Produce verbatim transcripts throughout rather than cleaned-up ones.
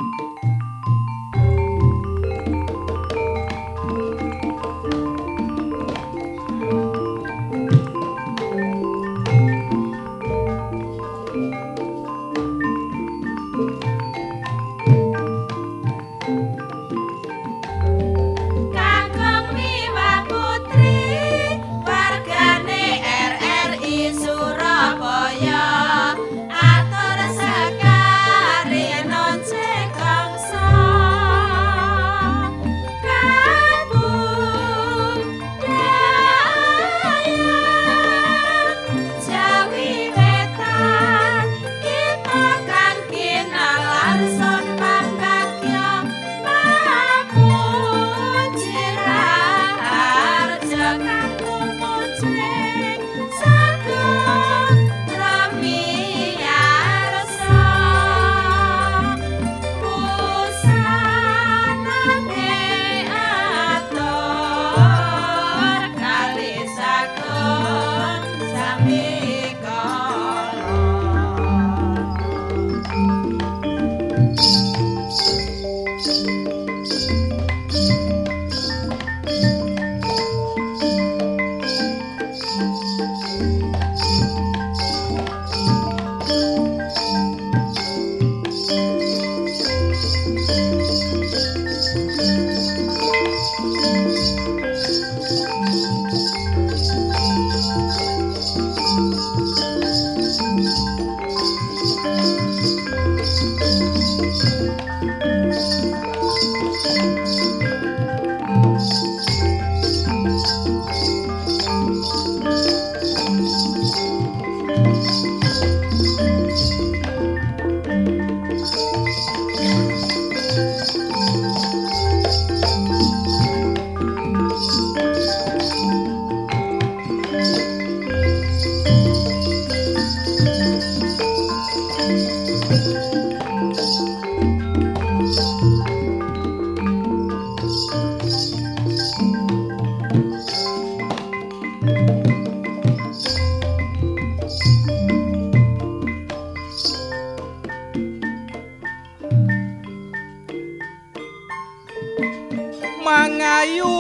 mangayu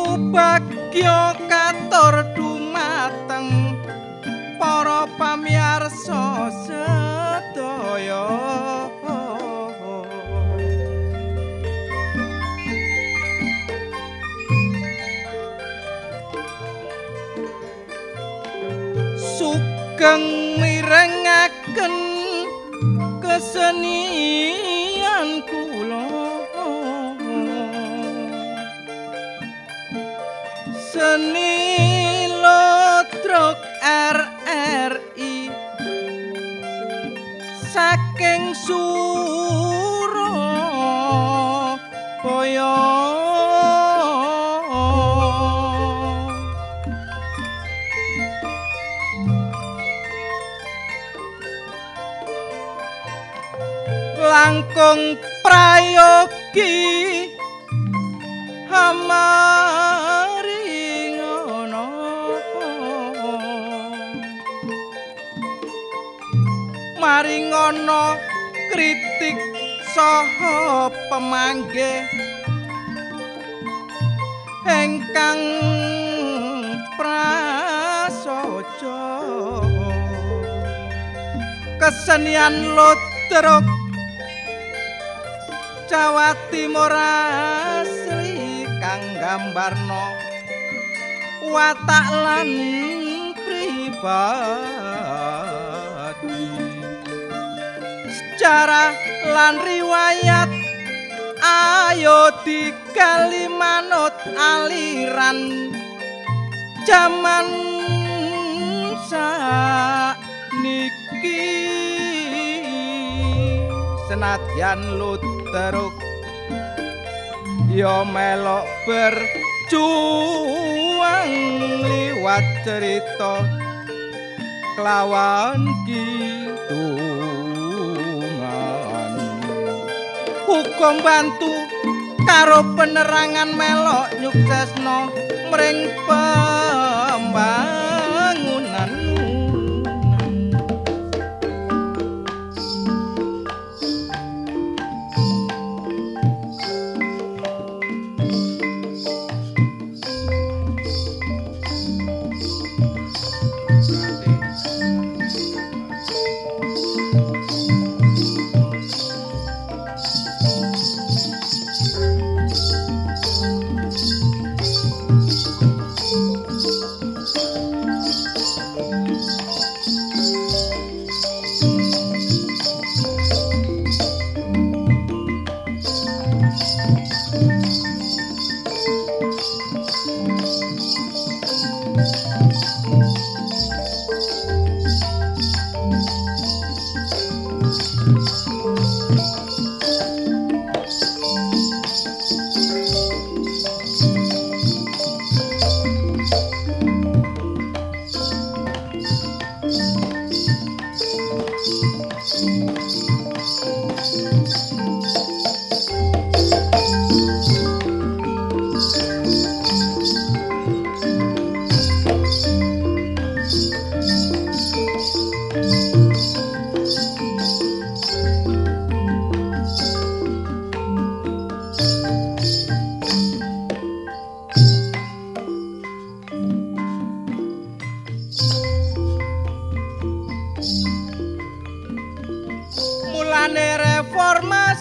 bagya katur dumateng para pamirsa sedaya. Sugeng mirengaken kesenian kula, seni Lodrok R R I saking Surabaya. Langkung prayogi hamaringono, maringono kritik saha pemanggih ingkang prasaja. Kesenian Lodrok Jawa Timur asli kang gambarno watak lan pribadi, sejarah lan riwayat ayo digali manut aliran jaman sakniki. Senadyan Lodrok ya melok berjuang liwat cerita kelawan kidungan, hukum bantu karo penerangan melok nyuksesno mring pembangunan.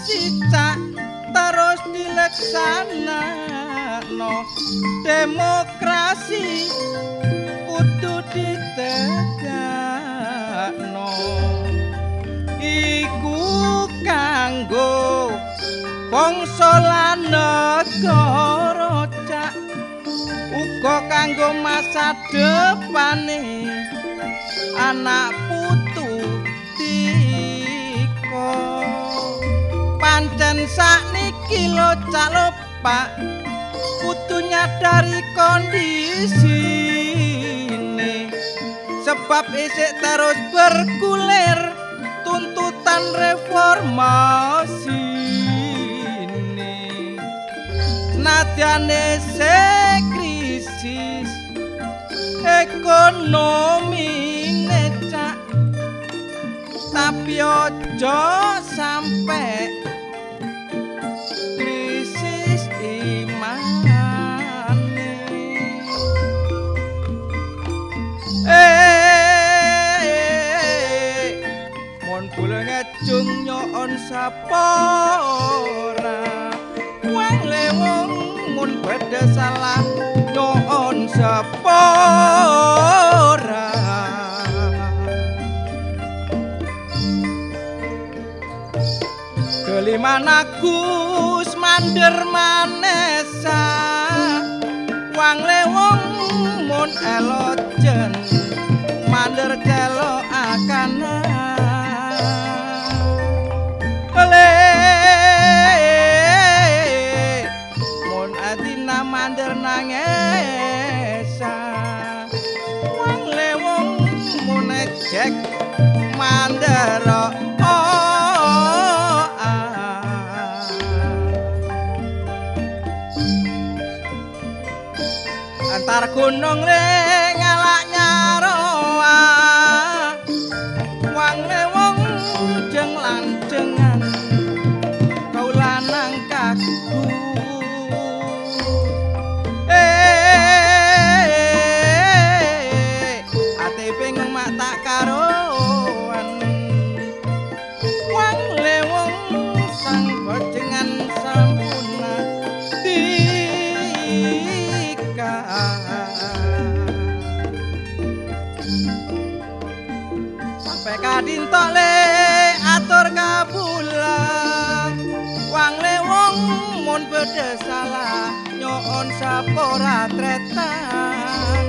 cak terus dileksanakno demokrasi kudu ditegakno iku kanggo bangsa lan negara cak uga kanggo masa depane anak putu tika pancen sakniki lo cak lo pak kudu nyadari kondisine sebab isik terus bergulir tuntutan reformasi ini nadyane se krisis ekonomi necak tapi ojo sampai krisis imane eh mon kula ngejung nyon sapora wong lewong mun beda salah nyon sapora Keliman Agus mandir manesa wang lewong mun elojen mandir celo akana le mun adina mandir nangesa wang lewong mun ejek mandir antar gunung le ngalak nyaroa wang lewong jeng lanjengan kau lanang kaku eh ate pengen mak tak karoan wang lewong sang bojengan sampuna sampai kadintok le atur kabula wang lewong mun beda salah nyon sapora tretan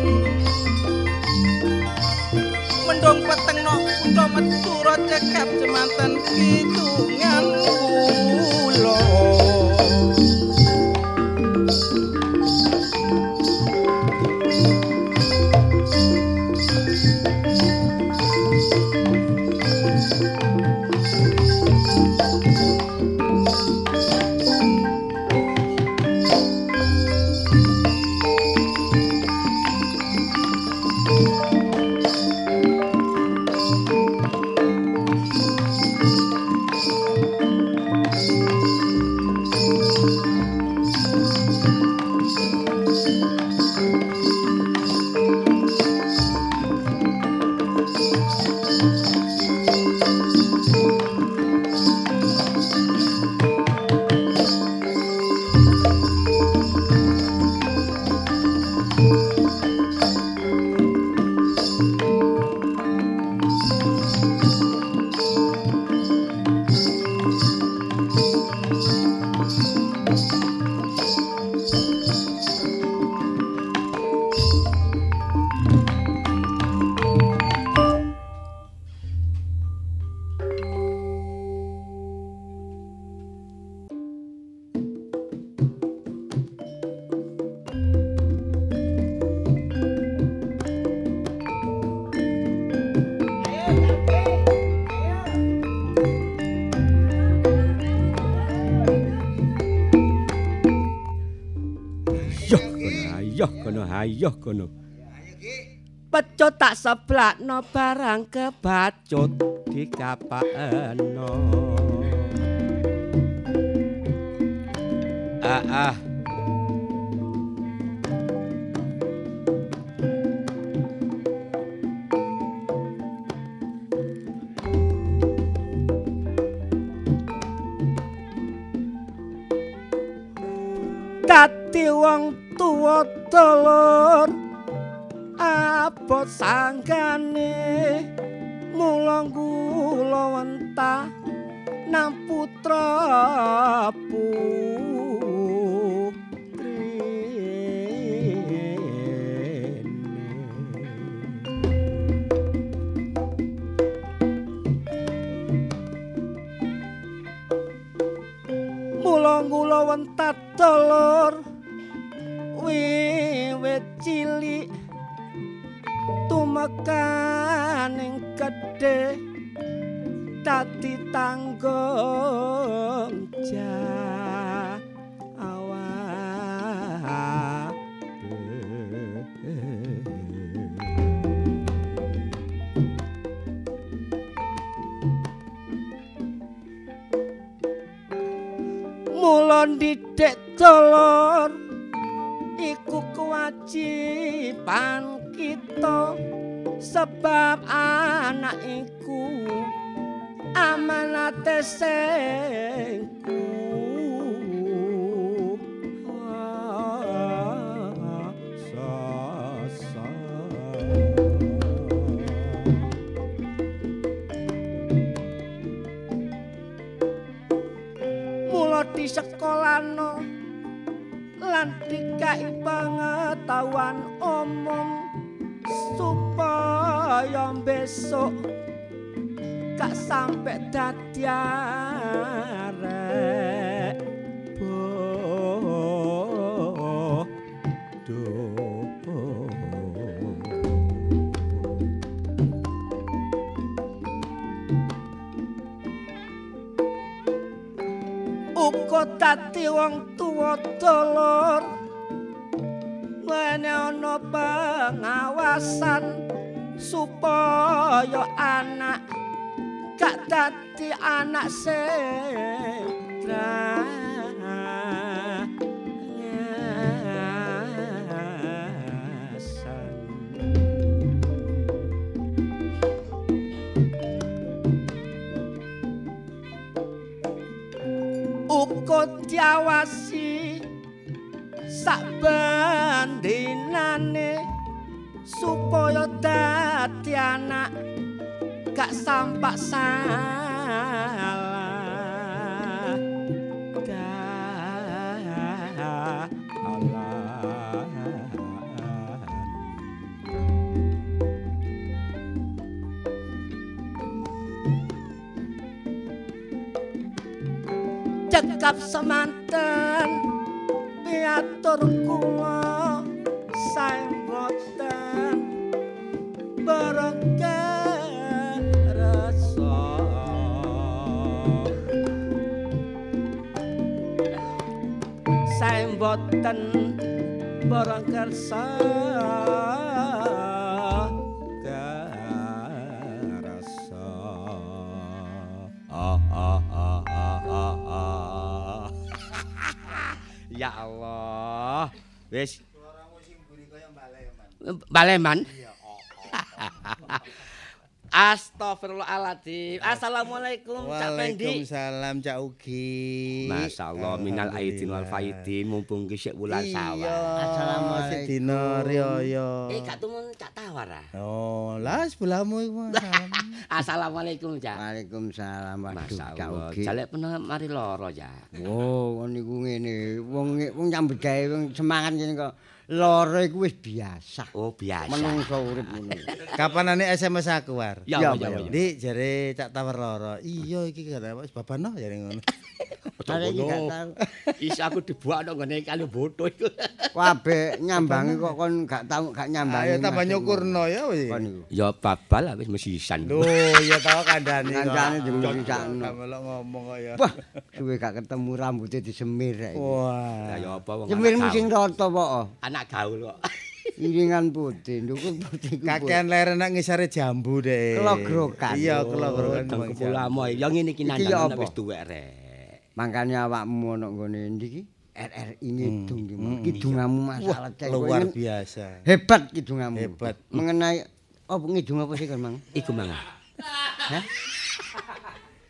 mendong peteng nok kutha metura cekap jemanten kidungan kula ayo kono. Pecut tak seblakno barang kebacut dikapakno. Ah ah. dadi wong tuwa dulur abot sanggane mula kula wentah nang putra kula wentah dulur wiwit cilik tumekaning gedhe dadi tanggung jawab mula didik dulur iku kewajiban kita sebab anak iku amanate sing di sekolahno lan dikai pengetahuan umum supaya besok gak sampai dadi arek bodoh. Uga dadi wong tuwa dulur wene ana pengawasan supaya anak gak dadi anak sing uga diawasi sakbandinane supaya dadi anak gak sampak salah cekap semanten piatur kula saeng boten barokah rasa saeng boten barokah rasa ya Allah. Wis. Suaramu sing buri kaya baleman. Baleman? Iya. Astagfirullahaladzim. Assalamualaikum Cak Pendi. Waalaikumsalam Cak Ugi. Masyaallah minal aidin wal faidin mumpung kisik wulan sawah. Assalamualaikum. Dina riyaya. Eh gak tumun Cak Tawar ah. Oh, lah sebelahmu iku. Assalamualaikum Cak. Waalaikumsalam. Waduh Cak Ugi. Jalek pernah mari lara Cak. Oh, niku ngene. Wong wong nyambut gawe wong semangat ngene kok. Lara iku wis biasa. Oh, biasa. Menungso urip ngono. Kapanane S M S aku war? Ya, ya, ya. Dik jare Cak Tawar lara. Iya iki kare wis babano jare ngono. Are iki gak tau. Is aku dibuakno ngene kali boto iku. Kabeh nyambangi kok kon gak tau gak nyambangi. Ayo tambah nyukurno ya wis. Ya babal wis mesisan. Lho, ya tau kandhane kok. Kancane dimesisakno. Melok ngomong kok ya. Wah, suwe gak ketemu rambutnya disemir rek. Lah Wah. ya apa wong. Semirmu sing rata kok. Anak gaul kok. Iringan putih, ndukur putih. Kakean leren nak ngisare jambu deh. Kelogrokan. Iya, kelogrokan. Teng kepulamo ya ngene iki nandang wis tuwek rek. Mangkane awakmu ana nggone ndi iki? R R I ngidung iki. Kidungamu masalah cek. Luar biasa. Hebat kidungamu. Hebat. Mengenai apa ngidung apa sih kan, Mang? Iku mang. Hah?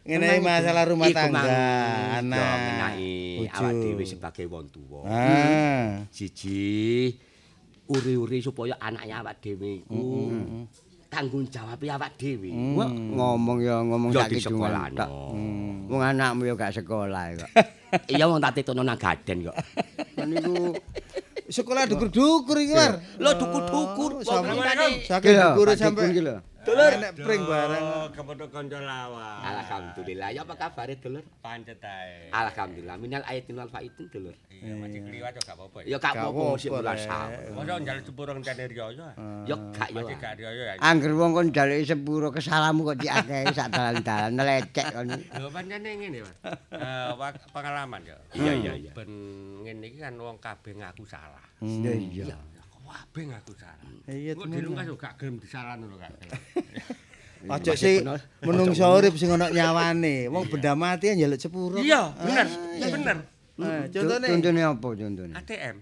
ngenai masalah rumah Iku tangga, mang- anak, yo ngenai bojo. awak dhewe sebagai wong tuwa. Ah. Siji uri-uri supaya anaknya awak dhewe iku tanggung jawab awak dhewe. Wah, ngomong ya ngomong Yo sak di kidungan sekolah tok. Wong anakmu ya gak sekolah kok. Iya wong tak tetokno nang gaden kok. Kan niku Sekolah dukur-dukur iki, War. Lho dukur-dukur wong ngene. Saking Iki lho, dukure Pak sampe Dikun iki lho. Dulur. enek pring bareng. Kepotok kanca lawan. Alhamdulillah. Ya apa kabar dulur? Pancet ae. Alhamdulillah. Minal aidin wal faidin dulur. Iya, masih kliwat kok gak apa-apa ya. Ya gak Gak apa-apa mesti apa-apa, mulas Rek. sawah. Masa njaluk sepuro ngenteni riyo ya. Ya gak ya. Masih gak riyo ya. Angger wong kon njaluk sepuro kesalamu kok diakehi sak dalan-dalan lecek kon. Lho pancene ngene, Mas. Eh wak- pengalaman ya. Iya iya iya. Ben ngene iki kan wong kabeh ngaku salah. Ya iya. Kabeh ngaku salah. Iya, Kok dilungkas kok gak gelem disalahno lho kan. Aja sih menungso urip sing ana nyawane. Wong benda mati njaluk sepuro. Iya, bener. Ya bener. Nah, contone Contone apa contone? A T M.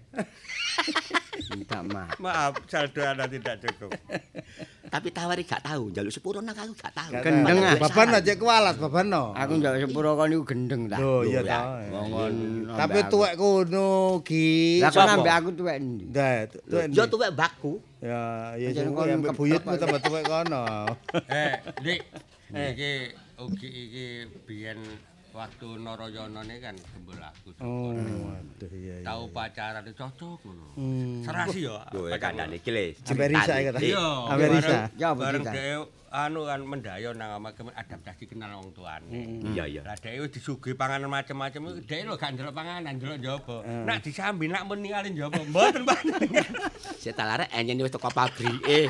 Minta maaf. Maaf, saldo Anda tidak cukup. Tapi tawari gak tahu, njaluk sepuro nang aku gak tahu. Gendeng ah. Baban aja kualat, baban no. Aku njaluk sepuro kon niku gendeng ta. Loh, iya Loh, ta. Wong kon Tapi tuwek kono Ki. Lah kon Sapa? ambek aku tuwek endi? Dah, tuwek. Yo tuwek mbakku. Ya, ya Pancen sing kon ambek keplek, buyutmu Pak. tambah tuwek kono. Eh, Dik. Iki ugi iki biyen waktu Narayana ne kan gembul aku. Oh, waduh iya iya. Tahu pacaran cocok ngono. Hmm. Serasi ya. Lho kandhane iki le. Sampai Risa iki ta? Iya. Sampai Risa. Ya apa Bareng cerita? dhewe anu kan mendayo nang omah kemen adaptasi kenal wong tuane. Iya iya. Lah dhewe disuguhi panganan macam-macam dhewe lho gak ndelok panganan, ndelok njaba. Nak disambi nak men ningali njaba. Mboten panjenengan. Sik tak larek enyen wis teko pabrike.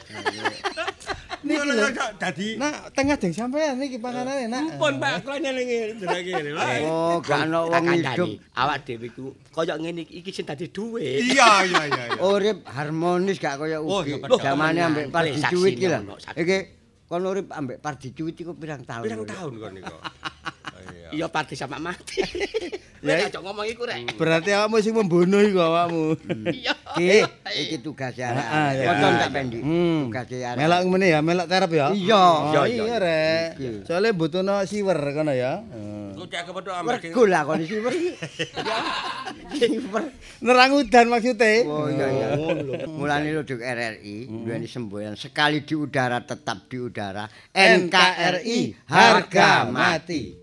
Niki lho. Dadi Nak tengah deng sampean niki panganane, Nak. Pun Pak kula nyelingi jenenge ngene. Oh, gak ana wong hidup. Awak dhewe iku kaya ngene iki iki sing dadi dhuwit. Iya iya iya. Urip harmonis gak kaya Oh, ugi. ya bener. Zamane ambek Pardi Saksi Cuwit iki lho. ngono, saksi. Iki kon urip ambek Pardi Cuwit iku pirang tahun? Pirang urip? tahun kon niku. Iya. Iya pati sama mati. Ya, Ya aja ngomong iku rek. Berarti awakmu sing membunuh iku awakmu. Iya. Ki, iki tugasnya arek. Ah, ya. Kocon tak pendi. Hmm. Tugasnya arek. Melok ngene ya, melok terap ya. Iya. Oh, Iya, iya rek. Iki. Soale butuhno siwer kono ya. Ku cek kepethuk ambek Mergo lah kon iki wer. Siwer. Nerang udan maksudnya. Oh iya iya. Mulane lho R R I duweni semboyan sekali di udara tetap di udara. N K R I harga mati.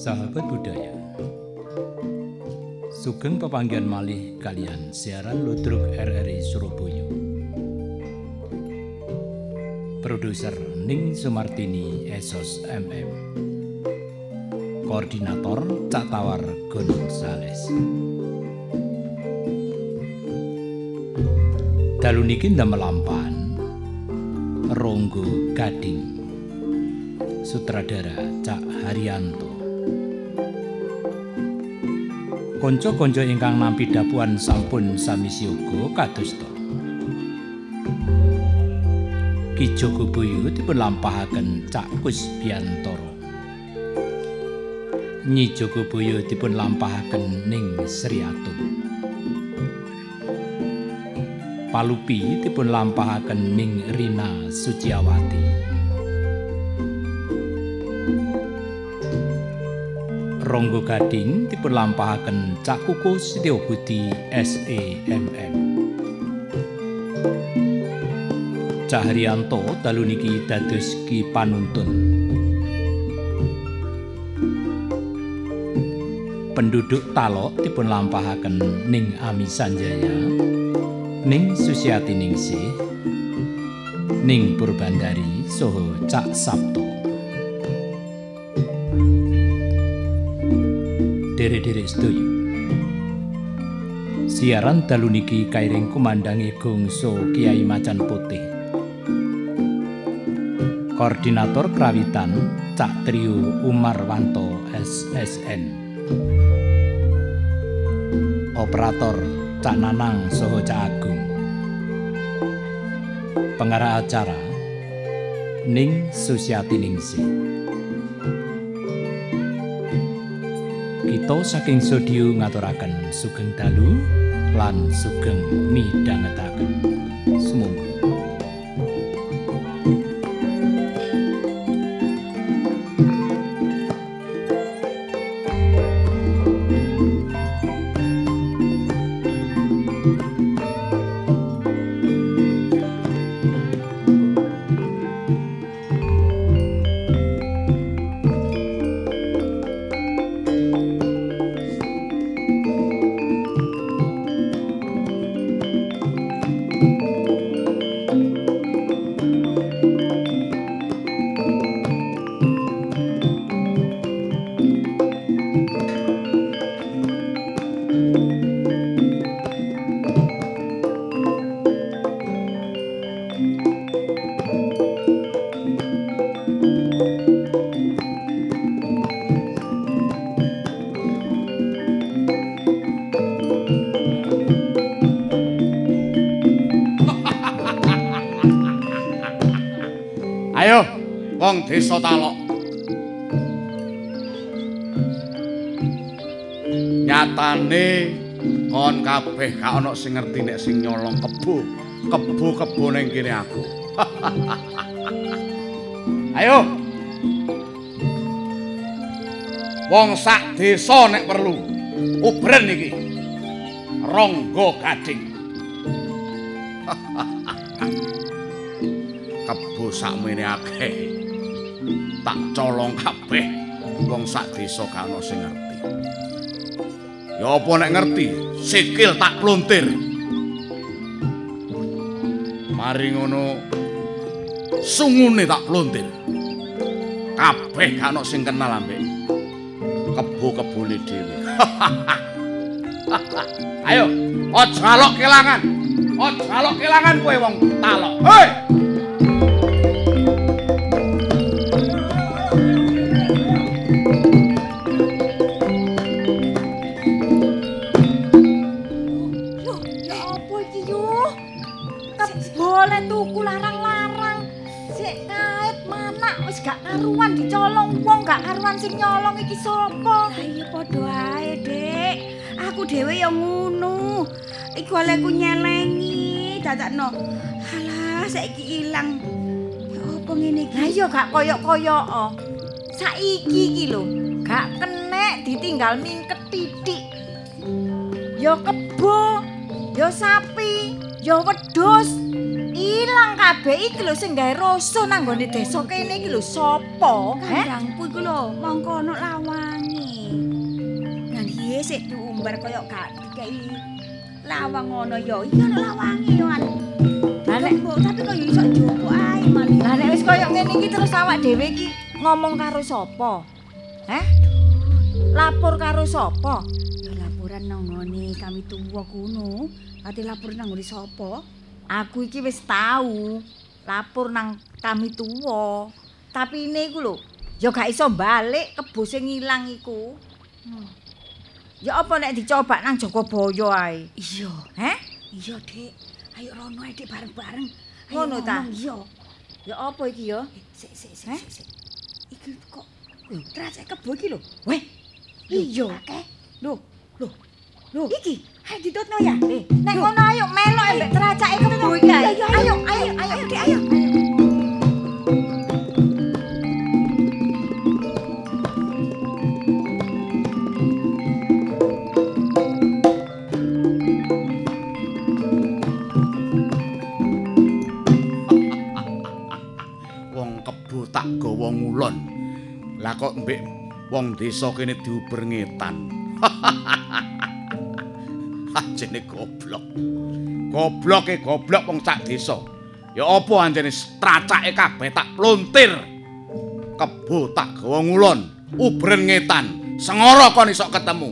Sahabat budaya, sugeng pepanggihan malih kalian siaran Ludruk R R I Surabaya. Produser Ning Sumartini Esos M M, Koordinator Cak Tawar Gunung Sales. Dalu niki ndamel lampahan Ronggo Gading, sutradara Cak Haryanto. Konco-konco ingkang nampi dapuan sampun sami siyaga kadosta. Ki Jogoboyo dipun lampahaken Cak Kusbiantoro. Nyi Jogoboyo dipun lampahaken Ning Sri Atun. Palupi dipun lampahaken Ning Rina Suciawati. Ronggo Gading dipun lampahaken Cak Kuku Setiobudi S E M M. Cak Haryanto dalu niki dados Ki Panuntun. Penduduk Talok dipun lampahaken Ning Ami Sanjaya, Ning Susiati Ningsih, Ning Purbandari saha Cak Sabto. Derek-derek sedaya, siaran dalu niki kairing kumandangi gongso Kiai Macan Putih. Koordinator Krawitan Cak Trio Umarwanto S S N. Operator Cak Nanang saha Cak Agung. Pengarah acara Ning Susiati Ningsih. Kita saking studio ngaturaken sugeng dalu lan sugeng midhangetaken. Sumangga. Wong desa Talok. Nyatane kon kabeh gak ana sing ngerti nek sing nyolong kebo. Kebo-kebo ning kene aku. Ayo. Wong sak desa nek perlu ubren iki. Ronggo Gading. Kebo sakmene akeh. Tak colong kabeh wong sak desa gak ana sing ngerti. Ya apa nek ngerti, sikil tak plontir. Mari ngono sungune tak plontir. Kabeh gak ana sing kenal ambek kebo-kebone dhewe. Ayo, aja alok kelangan. Aja alok kelangan kowe wong Talok. Hei! Tuku larang-larang sik kait manak wis gak karuan dicolong wong gak karuan sing nyolong iki sapa? Lah iya padha ae, Dik. Aku dhewe ya ngono. Iku olehku nyelengi dadakno. Halah saiki ilang. Ya apa ngene iki? Lah iya gak koyok-koyok. Saiki iki lho, gak kenek ditinggal mingket titik. Ya kebo, ya sapi, ya wedhus. Ilang kabeh iki lho sing gawe rasa nang nggone desa kene iki lho sapa? Kandangku iku lho mongko ana lawange. piye sik diumbar kaya gak dikei lawang ngono ya. Iya ana lawange yo anu. Lah nek tapi kok iso njupuk ae malah. Lah nek wis kaya ngene iki terus awak dhewe iki ngomong karo sapa? Heh? Lapor karo sapa? Ya laporan nang ngene kami tuwa kuno. Ati lapor nang ngene sapa? Aku iki wis tahu lapor nang kami tuwa. Tapi ini iku lho, ya gak iso balik kebo sing ilang iku. Hmm. Ya apa nek dicoba nang Jogobaya ae? Iya. Heh? Iya, Dik. Ayo rono ae Dik bareng-bareng. Ngono ta? Iya. Ya apa iki ya? Sik sik sik sik. Iki kok lho, tracek kebo iki lho. Weh. Iya. Lho, lho. Lho, iki ayo ditutno ya. Eh, nek ngono ayo melok ambek tracake kebo iki ae. Ayo, ayo, ayo, Dik, ayo. Tak gawa ngulon. Lah kok mbek wong desa kene diuber ngetan. Anjene goblok. Gobloke goblok wong sak desa. Ya apa anjene tracake kabeh tak plontir. Kebo tak gawa ngulon, ubren ngetan. Sengara kon iso ketemu.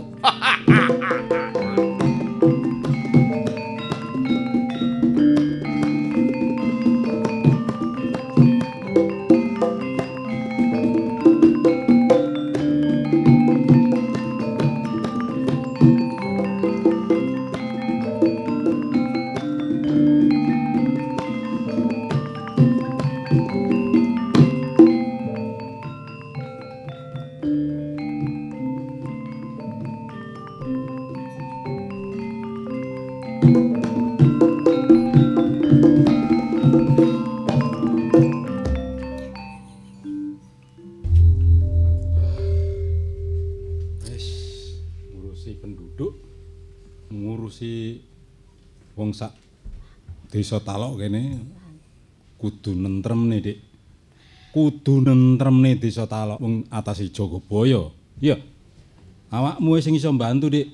Sak desa Talok kene kudu nentremne, Dik. Kudu nentremne desa Talok wong atase Jogobaya. Iya. Awakmu sing iso mbantu, Dik.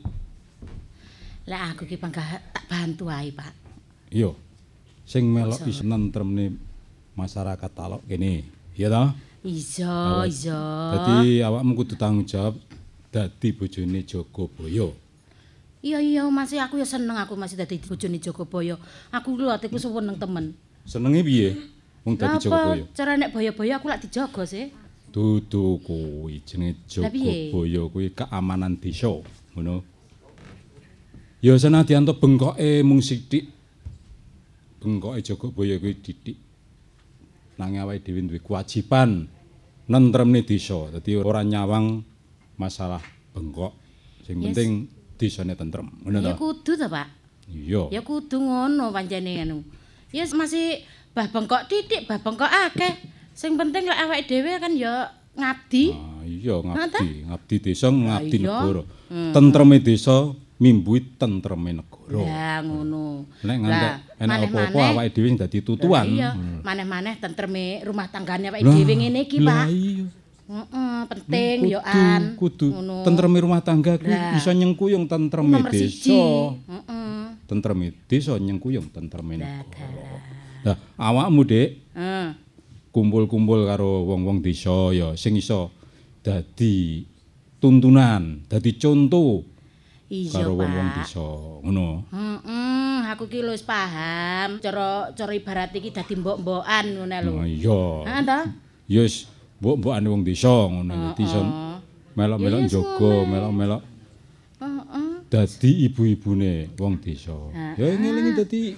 Lah aku ki panggah tak bantu ae, Pak. Iya. Sing melok iso nentremne masyarakat Talok kene. Iya ta? Iso, iso. Dadi awakmu kudu tanggung jawab dadi bojone Jogobaya. Iya iya masih aku ya seneng aku masih dadi bojone Jogobaya. Aku lho atiku seneng temen. Senenge piye? Wong dadi Jogobaya. Apa cara nek boyo-boyo aku lak dijaga sih. Dudu kuwi jenenge Jogobaya kuwi keamanan desa, ngono. Ya senadyan to bengkoke mung sithik. Bengkoke Jogobaya kuwi titik. Nanging awake dhewe duwe kewajiban nentremne desa. Dadi ora nyawang masalah bengkok. Sing yes. penting desane tentrem. Ngono ta? Ya kudu ta, Pak. Iya. Ya kudu ngono pancene anu. Ya masih bah bengkok titik, bah bengkok akeh. Sing penting lek awake dhewe kan ya ngabdi. Ah iya ngabdi, ngabdi desa, ngabdi ah, negara. Hmm. Tentreme desa mimbuhi tentreme negara. Ya ngono. Nek ngantek enak apa-apa awake dhewe sing dadi tutuan. Iya, hmm. maneh-maneh tentreme rumah tanggane awake dhewe ngene iki, Pak. Lah iya. Heeh, penting yo an. Kudu tentreme rumah tangga kuwi iso nyengkuyung tentreme desa. Heeh. Tentreme desa nyengkuyung tentreme negara. Lah awakmu, Dik. Heeh. Kumpul-kumpul karo wong-wong desa ya sing iso dadi tuntunan, dadi conto. Iya, karo wong-wong Pak. desa, ngono. Heeh, aku ki wis paham. Cara cara ibarat iki dadi mbok-mbokan ngono lho. Nah, iya. Heeh ta? Ya wis mbok-mbokane wong desa ngono. Dadi iso melok-melok njogo, melok-melok. Heeh. Dadi ibu-ibune wong desa. Ya ngelingi dadi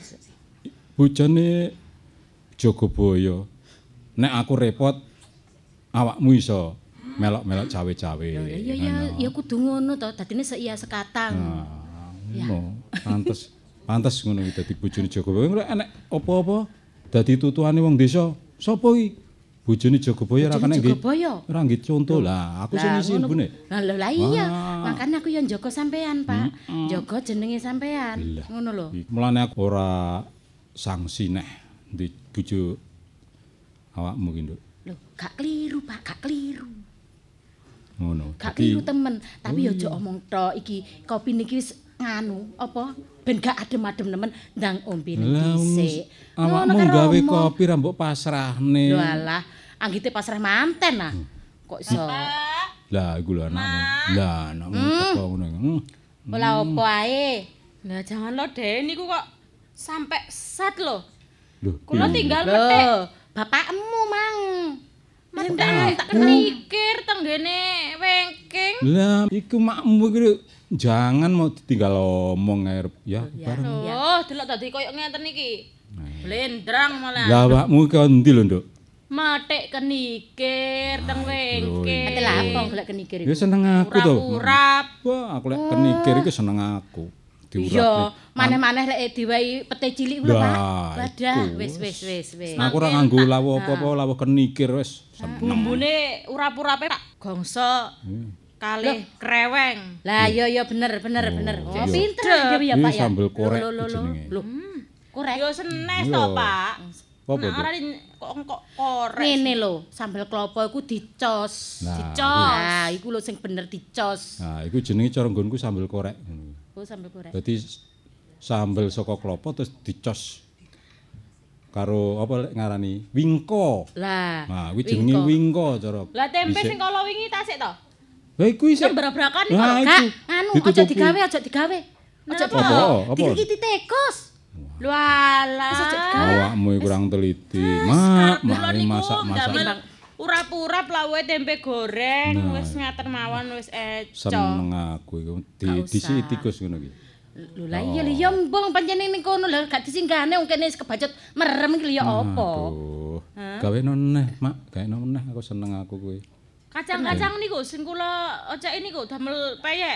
bojone Jogobaya. Nek aku repot awakmu iso melok-melok cawe-cawe. Ya ya ya ya kudu ngono to, dadine seiya sekatang. Nah, ngono. Pantes pantes ngono iki dadi bojone Jogobaya. Nek enek apa-apa dadi tutuane wong desa, sapa iki? Bojone Jogobaya ra kene nggih. Ora nggih conto lah, aku sing isi ibune. Lah lah iya, makane aku ya njaga sampean, Pak. Njaga jenenge sampean. Ngono lho. Mulane aku ora sanksi neh di bojo awakmu ki, Nduk. Lho, gak keliru, Pak, gak keliru. Ngono. Gak keliru temen, tapi aja omong tok iki kopi niki wis nganu apa ben gak adem-adem nemen ndang ombene dhisik. Awakmu gawe kopi ra mbok pasrahne. Lho alah, anggite pasrah manten ah. Kok iso? Lah iku lho anakmu. Lah anakmu teko ngono. Ola opo ae. Lah jangan lo Dek niku kok sampai sat lho. Lho, kula tinggal metik. Bapakmu mang. Mentek tak mikir teng ngene wengking. Lah iku makmu iki jangan mau ditinggal omong ae ya bareng. Oh, delok tadi koyo ngenten iki. Blendrang malah. Lah awakmu ki endi lho, Nduk? Matik kenikir teng wengking. Ate lapong golek kenikir iku. Ya seneng aku to. Urap. Wah, aku lek kenikir iku seneng aku. Iya, maneh-maneh lek diwehi pete cilik lho, Pak. Wadah, wis wis wis wis. Aku ora nganggo lawuh apa-apa, lawuh kenikir wis. Bumbune urap-urape tak gongso. Kalih kreweng. Lah iya iya bener bener bener. Oh, pinter dhewe ya, Pak ya. Sambel korek jenenge. Lho, korek. Yo senes to, Pak. Apa Nek ora kok kok korek. Ngene lho, sambel klopo iku dicos. Dicos. Nah, iku lho sing bener dicos. Nah, iku jenenge cara nggonku sambel korek. Oh, sambel korek. Dadi sambel saka klopo terus dicos karo apa lek ngarani wingko. Lah. Nah, kuwi jenenge wingko cara. Lah tempe sing kala wingi tasik to? Lah iku isih brak-brakan iki kok. Gak, anu aja digawe, aja digawe. Aja apa? Dikiti tikus. Lho alah. Awakmu kurang teliti. Mak, mak masak-masak. Urap-urap lawuhe tempe goreng wis ngaten mawon wis eco. Seneng aku iku di disiki tikus ngono iki. Lho lah iya lho ya mbong pancen ning kono lho gak disinggahne wong kene wis kebacut merem iki lho ya apa. Aduh. Gawe noneh, Mak. Gawe noneh aku seneng aku kuwi. Kacang-kacang niku sing kula oceki niku damel peyek.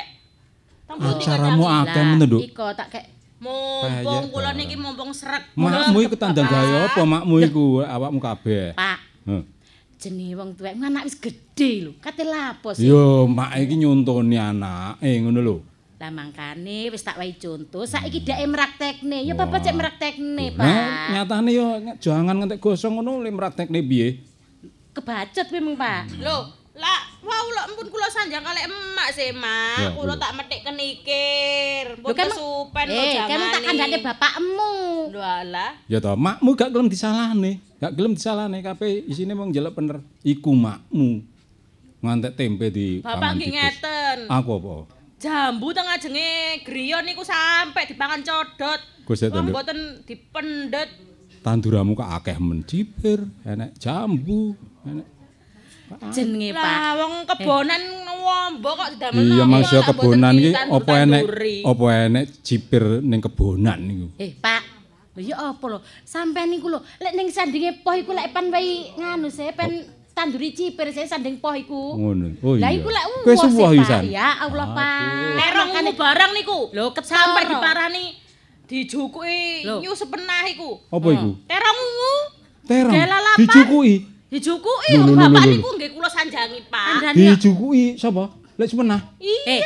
Acaramu akeh men, Nduk. Iko tak kek mumpung kula niki mumpung srek. Makmu iku tandang gawe apa makmu iku awakmu kabeh? Pak. Heeh. Jenenge wong tuwek anak wis gedhe lho. Kate lapo sih? Yo, mak iki nyontoni anake ngono lho. Lah mangkane wis tak wahi contoh, saiki dhek mraktekne. Ya bapak cek mraktekne, Pak. Nah, nyatane yo jangan ngantek gosong ngono le mraktekne piye? Kebacut memang, Pak. Lho, lah wau lho ampun kula sanjang kalek emak sih, Mak. Kula tak metik kenikir. Mbok kesupen kok jamane. Eh, kamu tak kandhane bapakmu. Lho alah. Ya toh, makmu gak gelem disalahne. Gak gelem disalahne kabeh isine mung njeluk bener. Iku makmu. Ngantek tempe di Bapak nggih ngeten. Aku apa? Jambu teng ajenge griya niku sampe dipangan codot. Wong mboten dipendet. Tanduramu kok akeh men cipir, enek jambu, enek jenenge Pak. Lah wong kebonan wombo kok didamel. Iya maksud kebonan iki apa enek apa enek cipir ning kebonan niku. Eh Pak, lho ya apa lho? Sampeyan niku lho, lek ning sandinge poh iku lek pen wae nganu se pen tanduri cipir se sanding poh iku. Ngono. Oh iya. Lah iku lek kowe suwah pisan. Ya Allah Pak. Terongmu barang niku. Lho sampe diparani dijukuki nyus penah iku. Apa iku? Terongmu. Terong. Dijukuki. Dijukuki wong bapak niku nggih kula sanjangi, Pak. Dijukuki sapa? Lek sepenah. Iya.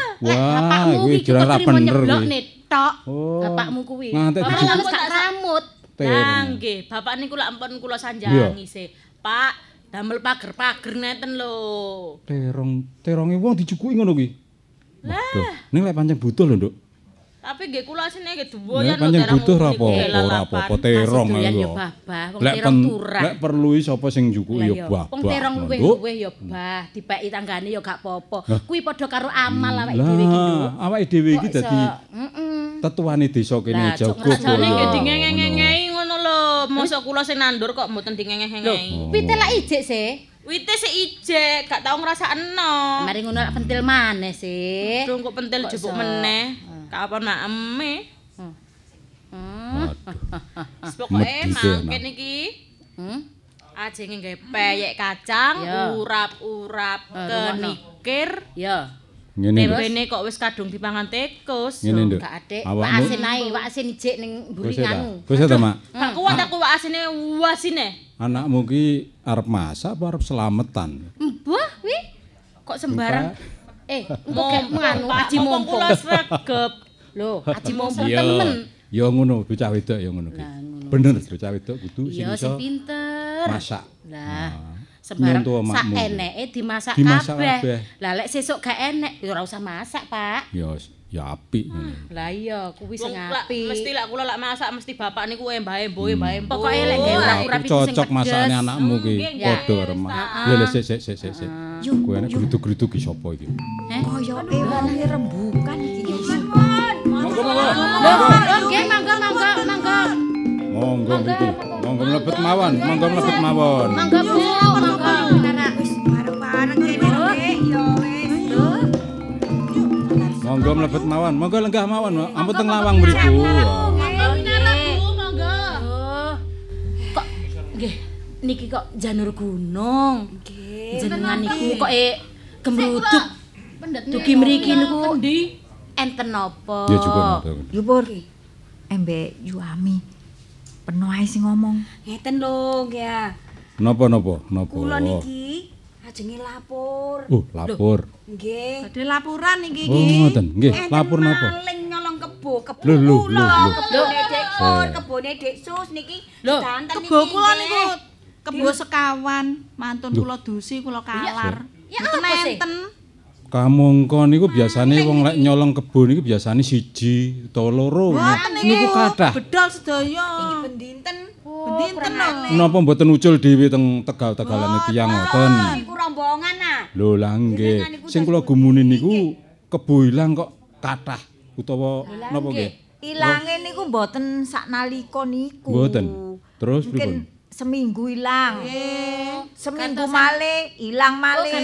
Wah, kuwi jelas ra bener kuwi. Tok. Bapakmu kuwi. Ngantek dijukuki gak rambut. Lah nggih, bapak niku lak ampun kula sanjangi sih. Pak, damel pager-pager neten lho. Terong, teronge wong dijukuki ngono kuwi. Lah, ning lek pancen butuh lho, Nduk. Tapi nggih kula asine nggih duwoyan lho terong. Butuh ra apa-apa, ora apa-apa terong lho. Lek lek perlu sapa sing njukuki ya babah. Wong terong luwih-luwih ya bah, dipeki tanggane ya gak apa-apa. Kuwi padha karo amal awake dhewe iki lho. Awake dhewe iki dadi tetuane desa kene jago. Jane nggih dingengeng-ngengei ngono lho. Mosok kula sing nandur kok mboten dingengeng-ngengei. Wite lak ijik sih. Wite sik ijek, gak tau ngrasakno. Mari ngono lak pentil maneh sih. Dung kok pentil jebuk meneh. Kapan makeme? Hmm. Pokoke mangken iki. Hmm. Ajenge nggawe peyek kacang, urap-urap kenikir. Ya. Ngene. Tempene kok wis kadung dipangan tikus. Gak adek. Wak asin ae, wak asin ijik ning mburi nganu. Wis ta, Mak? Gak kuat aku wak asine wasine. Anakmu ki arep masak apa arep selametan? Mbah, wi. Kok sembarang Eh, engko gek nganu aji mumpung. Kula sregep. Lho, aji mumpung temen. Ya ngono, bocah wedok ya ngono ki. Bener, bocah wedok kudu sing iso pinter. masak. Lah, sembarang Nyontoh sak makmu. eneke dimasak, Dimasak kabeh. kabeh. Lah lek sesuk gak enek ya ora usah masak, Pak. Ya ya apik. Lah iya kuwi sing Wong lak apik. mesti lak kula lak masak mesti bapak niku embah emboe mbah emboe. Pokoke lek gawe ura-ura pipi sing Cocok masakane anakmu ki. nggih, Padha karo mak. Lha lha sik sik sik sik sik. Kuwi enek gruduk-gruduk ki sapa iki? Koyoke wonge rembukan iki. Monggo monggo. Lho, nggih mangga mangga mangga. Monggo mriki. Monggo mlebet mawon, monggo mlebet mawon. Mangga Bu, mangga. Wis bareng-bareng kene Dik, ya wis. Monggo mlebet mawon, monggo lenggah mawon. Ampun teng lawang mriku. Kok nggih niki kok janur gunung. Nggih. Jenengan niku kok e gemruduk. Dugi mriki niku enten napa? Ya juga. Yo Pur. Embek Yuami. Peno ae sing ngomong. Ngeten lho, ya. Napa napa napa? Kula niki ajenge lapor. Oh, lapor. Nggih. Badhe laporan niki Oh, ngoten. Nggih, lapor napa? Maling nyolong kebo, kebo Lho, lho, kula, lho, lho. kebone Dek Pur, Eh. kebone Dek Sus niki Lho, sedanten niki. Kebo kula nggih. niku kebo sekawan, mantun kula dusi, kula kalar. Ya Mboten apa sih? enten. Kamangka niku biasane wong lek nyolong kebo niku biasane siji utawa loro. Mboten Niku kathah. Bedol sedaya. Niki bendinten. Bendinten lho. Napa mboten ucul dhewe teng tegal-tegalane tiyang ngoten? Niku rombongan ah. Lho lah nggih. Sing kula gumuni niku kebo ilang kok kathah utawa napa nggih? Ilange niku mboten saknalika niku. Mboten. Terus Mungkin pripun? seminggu ilang. Seminggu malih ilang malih.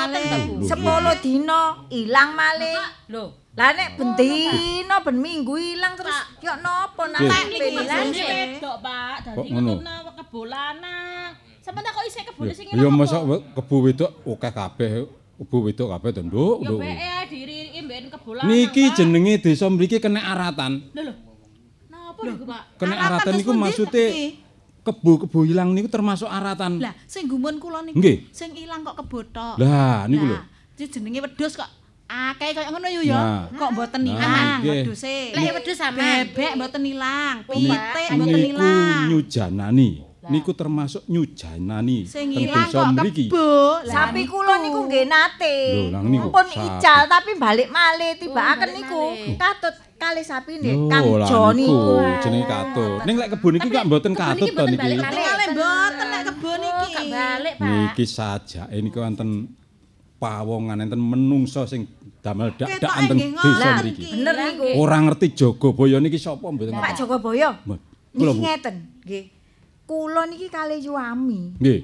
sepuluh dina ilang malih. Lho, Lah nek ben dina ben minggu ilang terus yo napa Nggih. nak Niku ilang bojone wedok, Pak. Kok Dadi ngono? ngetutna kebo lanang. Sampeyan kok isih kebone sing Ya masa kebo wedok akeh kabeh. Kebo wedok kabeh to, Nduk. Ya Nduk. beke ae diriki mben kebo lanang. Niki Pak. jenenge desa mriki kena aratan. Lho lho. Napa niku, Pak? Kena Aratan aratan terus niku pundi maksude iki? kebo-kebo ilang niku termasuk aratan. Lah, sing gumun kula niku Nggih. sing ilang kok kebo tok. Lah niku lho. Lah, iki jenenge wedhus kok akeh kaya ngono yo ya. Nah. Kok mboten Nah, ilang nggih. wedhuse. lek wedhus sampean. Bebek mboten ilang, Ni- pitik mboten Niku ilang. nyujanani. Niku termasuk nyujanani Sing teng ilang desa kok mriki. kebo. Lah, Sapi kula niku nggih nate. Lho, lang niku, Pun sapi. ical tapi balik malih tibakaken niku. Katut kalih sapine Kang Lho, lah Joni niku niku. jenenge katut. Ning lek kebun iki gak mboten katut to niki. Tingale mboten nek kebo niki. Gak balik, Pak. Niki sajake niku wonten pawongan enten menungso sing damel dak-dakan teng nggih desa ngoten mriki. iki. Bener niku. Ora ngerti Jogobaya niki sapa mboten Pak ngerti. Jogoboyo. Mbah, kula Niki Bu. ngeten, nggih. Kula niki kalih Yuami Nggih.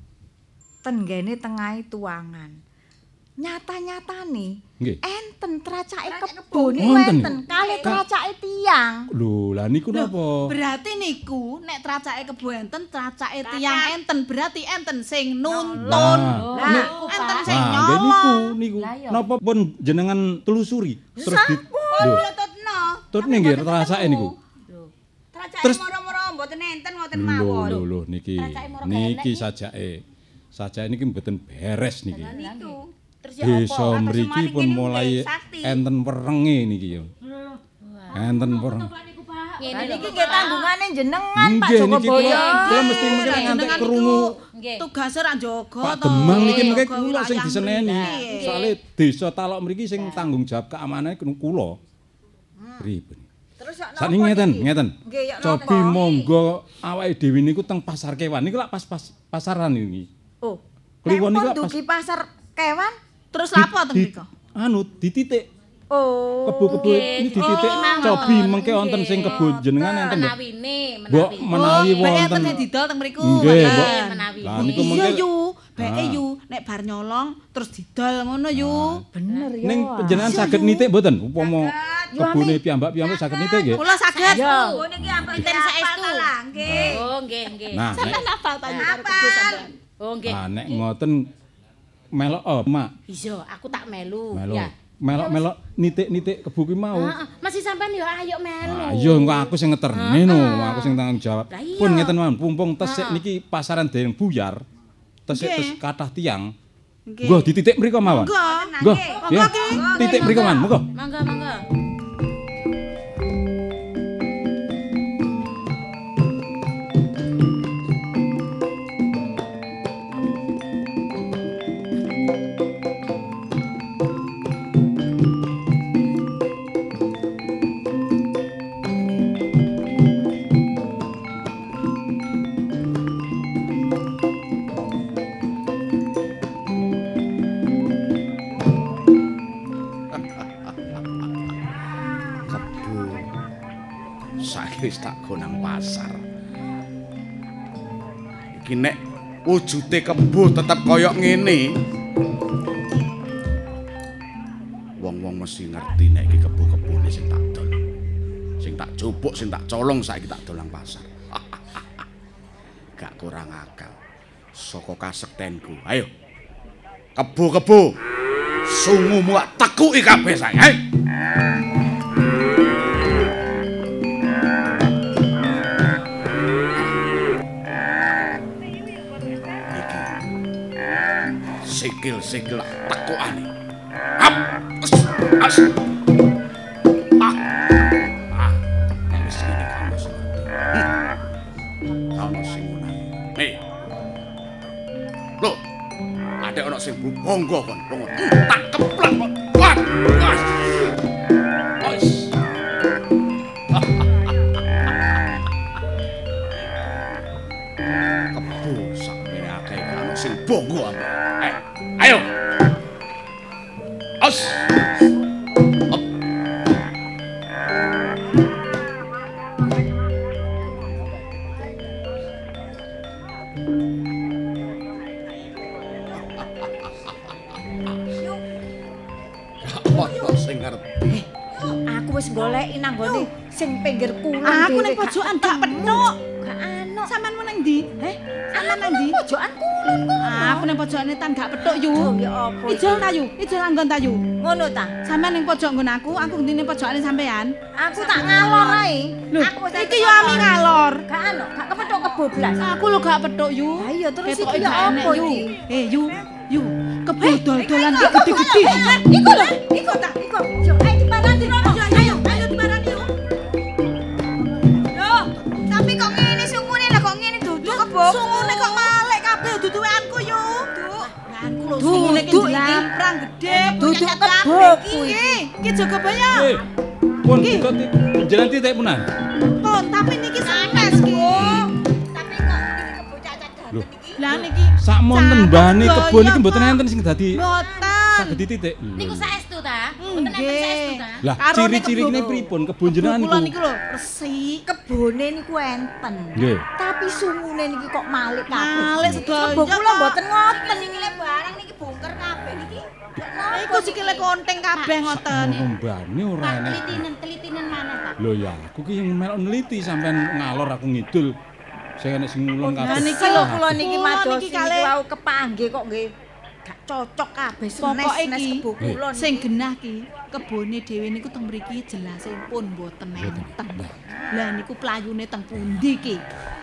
ten nggene tengahe tuangan. Nyata-nyatane Nggih. enten tracake kebo niku Wonten. enten kalih tracake tiyang. Lho, lah niku napa? Berarti niku nek tracake kebo enten, tracake tiyang enten, berarti enten sing nuntun. Lah, Lah, enten sing Nah, nggih niku nyolong. niku. Napa pun jenengan telusuri terus di lho. Tutno. Tutne nggih rasake niku. Tracake Terus- moro-moro mboten enten ngoten Lho mawon. lho lho niki. Niki sajake. Sajake niki mboten beres niki. Niku. Terus ya Desa apa? mriki pun mulai enten werenge niki ya. Enten wereng. Lah niki nggih tanggungane jenengan Pak Nggih niki Jogoboyo. kula kula mesti mungkin ngantek Jenengan krungu niku tugase ra njaga Pak to. Demang niki mengke Jaga kula sing wilayah diseneni. mriki. Soale desa Talok mriki sing tanggung jawab keamanan kula. Pripun? Terus sak Sakniki ngeten, ngeten. Nggih, ya Cobi monggo awake dhewe niku teng pasar kewan niku lak pas pas pasaran iki. Oh. Kliwon niku Nek lak pun pas dugi pasar kewan. Terus lapo teng di- mriko? Anu dititik Oh. kebo-kebo ini dititik cobi mengke wonten sing kebo jenengan enten Mbok. Menawine, Mbok menawi Oh, Bek wonten. enten sing didol teng mriku. Nggih, Mbok. menawi. Lah niku Iya mengke yu, beke Ah. yu nek bar nyolong terus didol ngono yu. Bener ya. ning jenengan saged nitik mboten upama kebune piyambak-piyambak saged nitik nggih. Kula saged. Oh niki ampun Enten saestu. Nggih. Oh, nggih, nggih. Nah, nek, Sampeyan hafal ta yu karo kebo sampeyan. Oh, nggih. nah, nek ngoten melok oh, Mak. Iya, aku tak melu. Melu. Ya. Melok-melok nitik-nitik kebo ki mau. Heeh, masih sampean yo ayo melu. Ah, iya engko aku sing ngeterne no, aku sing tanggung jawab. Lah iya. Pun ngeten mawon, pumpung tesik niki pasaran dereng buyar. Tesik Nggih. tes kathah tiyang. Nggih. Nggo dititik mriko mawon. Monggo. Nggo. Ya. Titik mriko mawon, monggo. Mangga, mangga. tak go nang pasar. Iki nek wujude kebo tetep kaya ngene. Wong-wong mesti ngerti nek iki kebo-kebone sing tak dol. Sing tak jupuk, sing tak colong saiki tak dol nang pasar. Gak kurang akal. Saka kasektenku. Ayo. Kebo-kebo. Sungumu tak tekuki kabeh saiki. Ayo. Sikil-sikil tekukane. Hap. As. Ah. Ah. Wis ngene kamu seperti. Kamu sing menang. Nih. Loh. Ada ana sing bonggo kon. Bonggo. Tak keplak kon. Wah. Wes. Wes. Kebu sakmene akeh ana sing bonggo ambek. Eh. Ayo. Os. Op. Apa sing ngerti? Aku wis goleki nang gone sing pinggir kulon. Aku ning pojokan gak petuk. Gak ana. Sampeyan meneng ndi? Heh? Sampeyan nang ndi? Pojokan kulon kono. Aku ning pojokane tan gak petuk yu. Ya apa? Ijol ta yu? Ijol anggon ta yu? Ngono ta? Sampeyan ning pojok nggon aku, aku ndi ning pojokane sampeyan. Aku tak ngalor ae. Lho, iki yo ami ngalor. Gak ana, gak kepethuk kebo blas. Aku lho gak petuk yu. Ha iya terus Ketoke iki yo gak enek, apa yu? iki? Eh yu, yu. Kebo dol-dolan iki gede-gede. Iku lho, iku ta, iku. Yo ayo diparani rono. Ayo, ayo diparani yu. Loh, tapi kok ngene sungune lah kok ngene duduk kebo. Sungune kok malek kabeh dudu weanku yu. Weanku lho sungune iki jlamprang gede. Duduk kebo Iki, iki jaga baya. Eh, pun kita jalan titik punan. Pun, tapi niki sanes ki. Tapi kok iki kebo cacat Lho. iki. Lah niki Sak monten mbane kebon iki mboten enten sing dadi boten. saged titik. Niku saestu ta? Mboten enten saestu ta? Lah Karo ciri-ciri kebo- kene pripun kebon jenengan Kula niku? niku lho resik. Kebone niku enten. Nggih. Tapi sungune niki kok malik kabeh. Malik sedaya Kebo kula kok. mboten ngoten iki le barang niki bongker kabeh niki. Iku sikile konteng kabeh ngoten. Mbane ora Pak, enek. telitinen, telitinen mana, Pak? Lho ya, aku ki melok neliti sampean ngalor aku ngidul. Sing enek sing ngulon Nah, kabeh. niki lho Kula niki Kula madosi niki niki kalih- wau kepanggih kok nggih gak cocok kabeh Pokoke senes-nes iki kebo kula niki. sing genah ki kebone dhewe niku teng mriki jelase pun mboten enten. Lah niku playune teng pundi ki?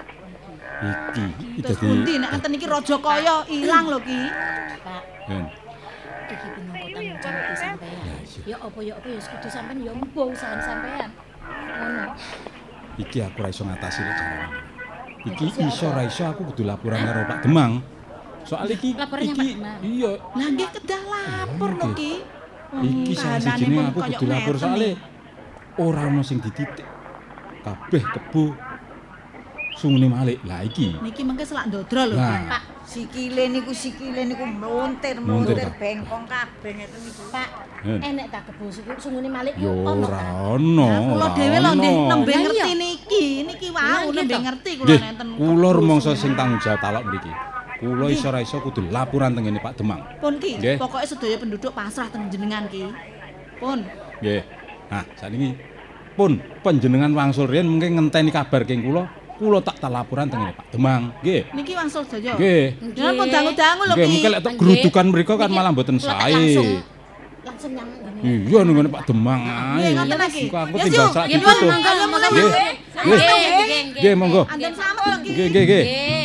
Iki iki Terus dadi pundi nek enten iki Rajakaya ilang lho ki. Pak, Ben. iki pinangka tanggung jawab sampean. Ya apa ya apa ya kudu sampean ya mbuh usaha sampean. Ngono. Iki aku ra iso ngatasi lek carane. Iki iso ra iso aku kudu laporan karo Pak Demang. Soal iki Laporannya iki Pak Demang? iya, Lah nggih kedah lapor lho ki. iki salah kahanane sijine pun aku kaya kudu lapor ngeten soalé nih. ora ono sing dititik. Kabeh kebo sungune malik. Lah iki. Niki mengke selak ndodro lho Lah. Pak. Sikile niku sikile niku mlontir Mlontir, mlontir Pak. bengkong kabeh ngeten niku. Pak, Eh. enek ta kebo suku sungune malik Yo ono ora ta? ono. Nah, kula ora dhewe lho nggih ono. nembe Lah ngerti iya. niki. Niki Lah, wau nggih nembe toh. ngerti kula Nggih, nenten. kula rumangsa sing tanggung jawab talok mriki. Kula iso ra iso kudu laporan teng ngene Pak Demang. Pun ki, Nggih. pokoke sedaya penduduk pasrah teng jenengan ki. Pun. Nggih. Nah, sakniki pun panjenengan wangsul riyen mungkin ngenteni kabar keng kula, kula tak tak laporan teng ngene Pak Demang. Nggih. Niki wangsul sedaya. Nggih. Jangan pun dangu-dangu lho Nggih, ki. mungkin lek tok gerudukan mriko kan malah mboten Kula tak sae. langsung langsung nyang ngene. Iya ning ngene Pak Demang ae. Nggih, ngoten iki. Kok aku Yes, tinggal yuk. sak Nggih, ditutup. monggo, monggo. Nggih. Nggih, nggih, Nggih, monggo. Andem slamet lho ki. Nggih, nggih, nggih. Nggih.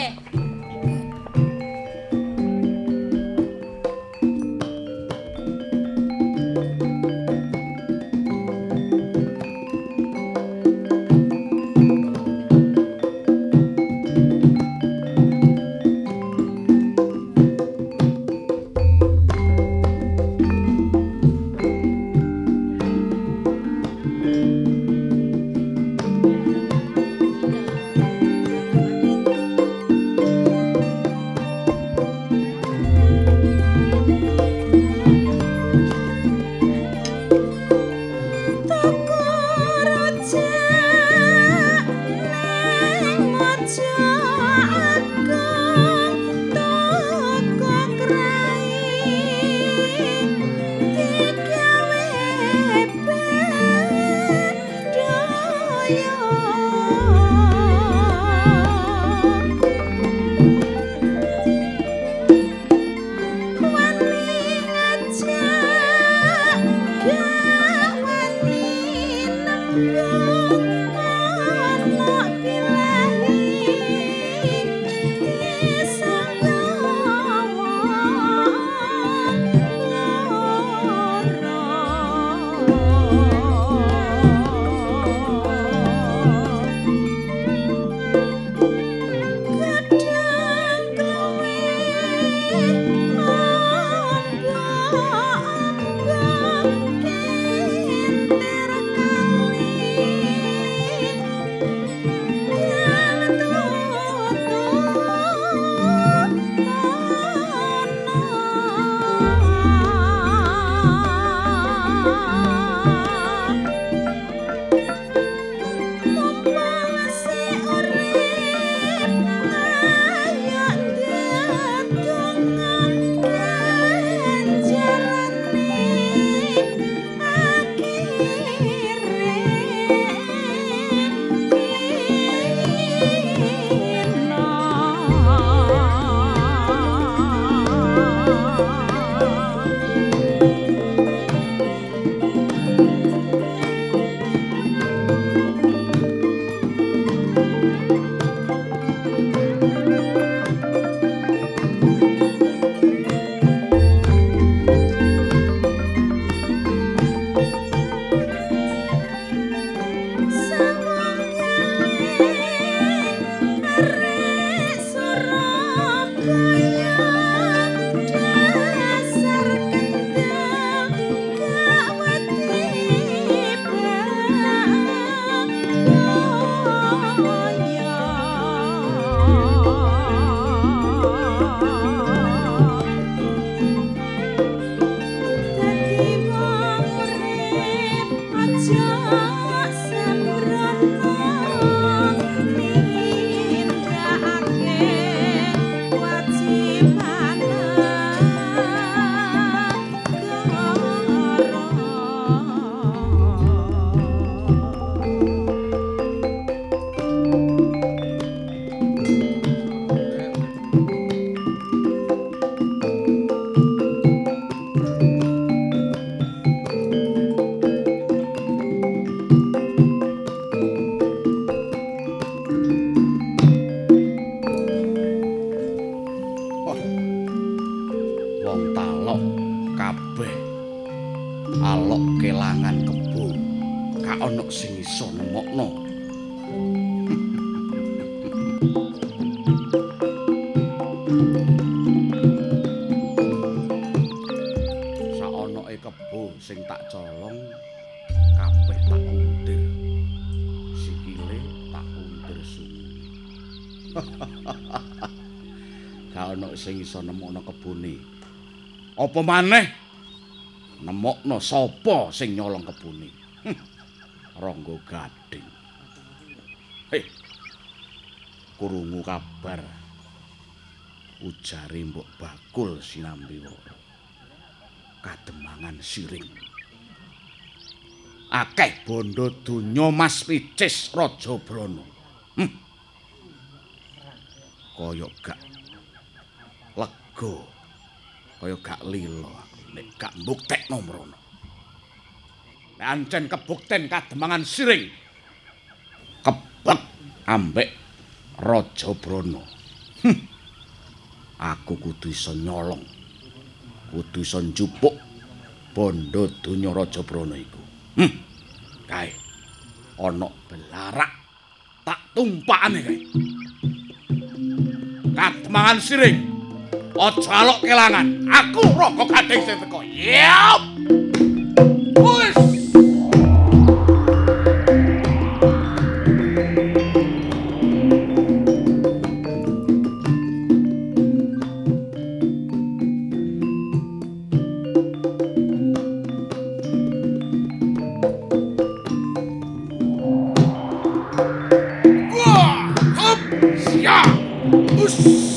Sing iso nemokno kebune. Apa maneh nemokno sapa sing nyolong kebune? Hm. Rangga Gading. Hei. Krungu kabar. Ujare Mbok Bakul Sinambiwara. Kademangan siring. Akeh bondo donya Mas Picis Raja Brana. Hm. Kaya gak lega kaya gak lilo nek gak mbuktekno mrono. Nek ancen kebukten kademangan siring kebek ambek Raja Brana. Hm. Aku kudu iso nyolong, kudu iso njupuk bondo donya Raja Brana iku. Hm. Kae ana belarak tak tumpakane kae. Kademangan siring aja alok kelangan. Aku Rangga Gading sing teko. Yap. Wis. Wah, hop, siap. Us.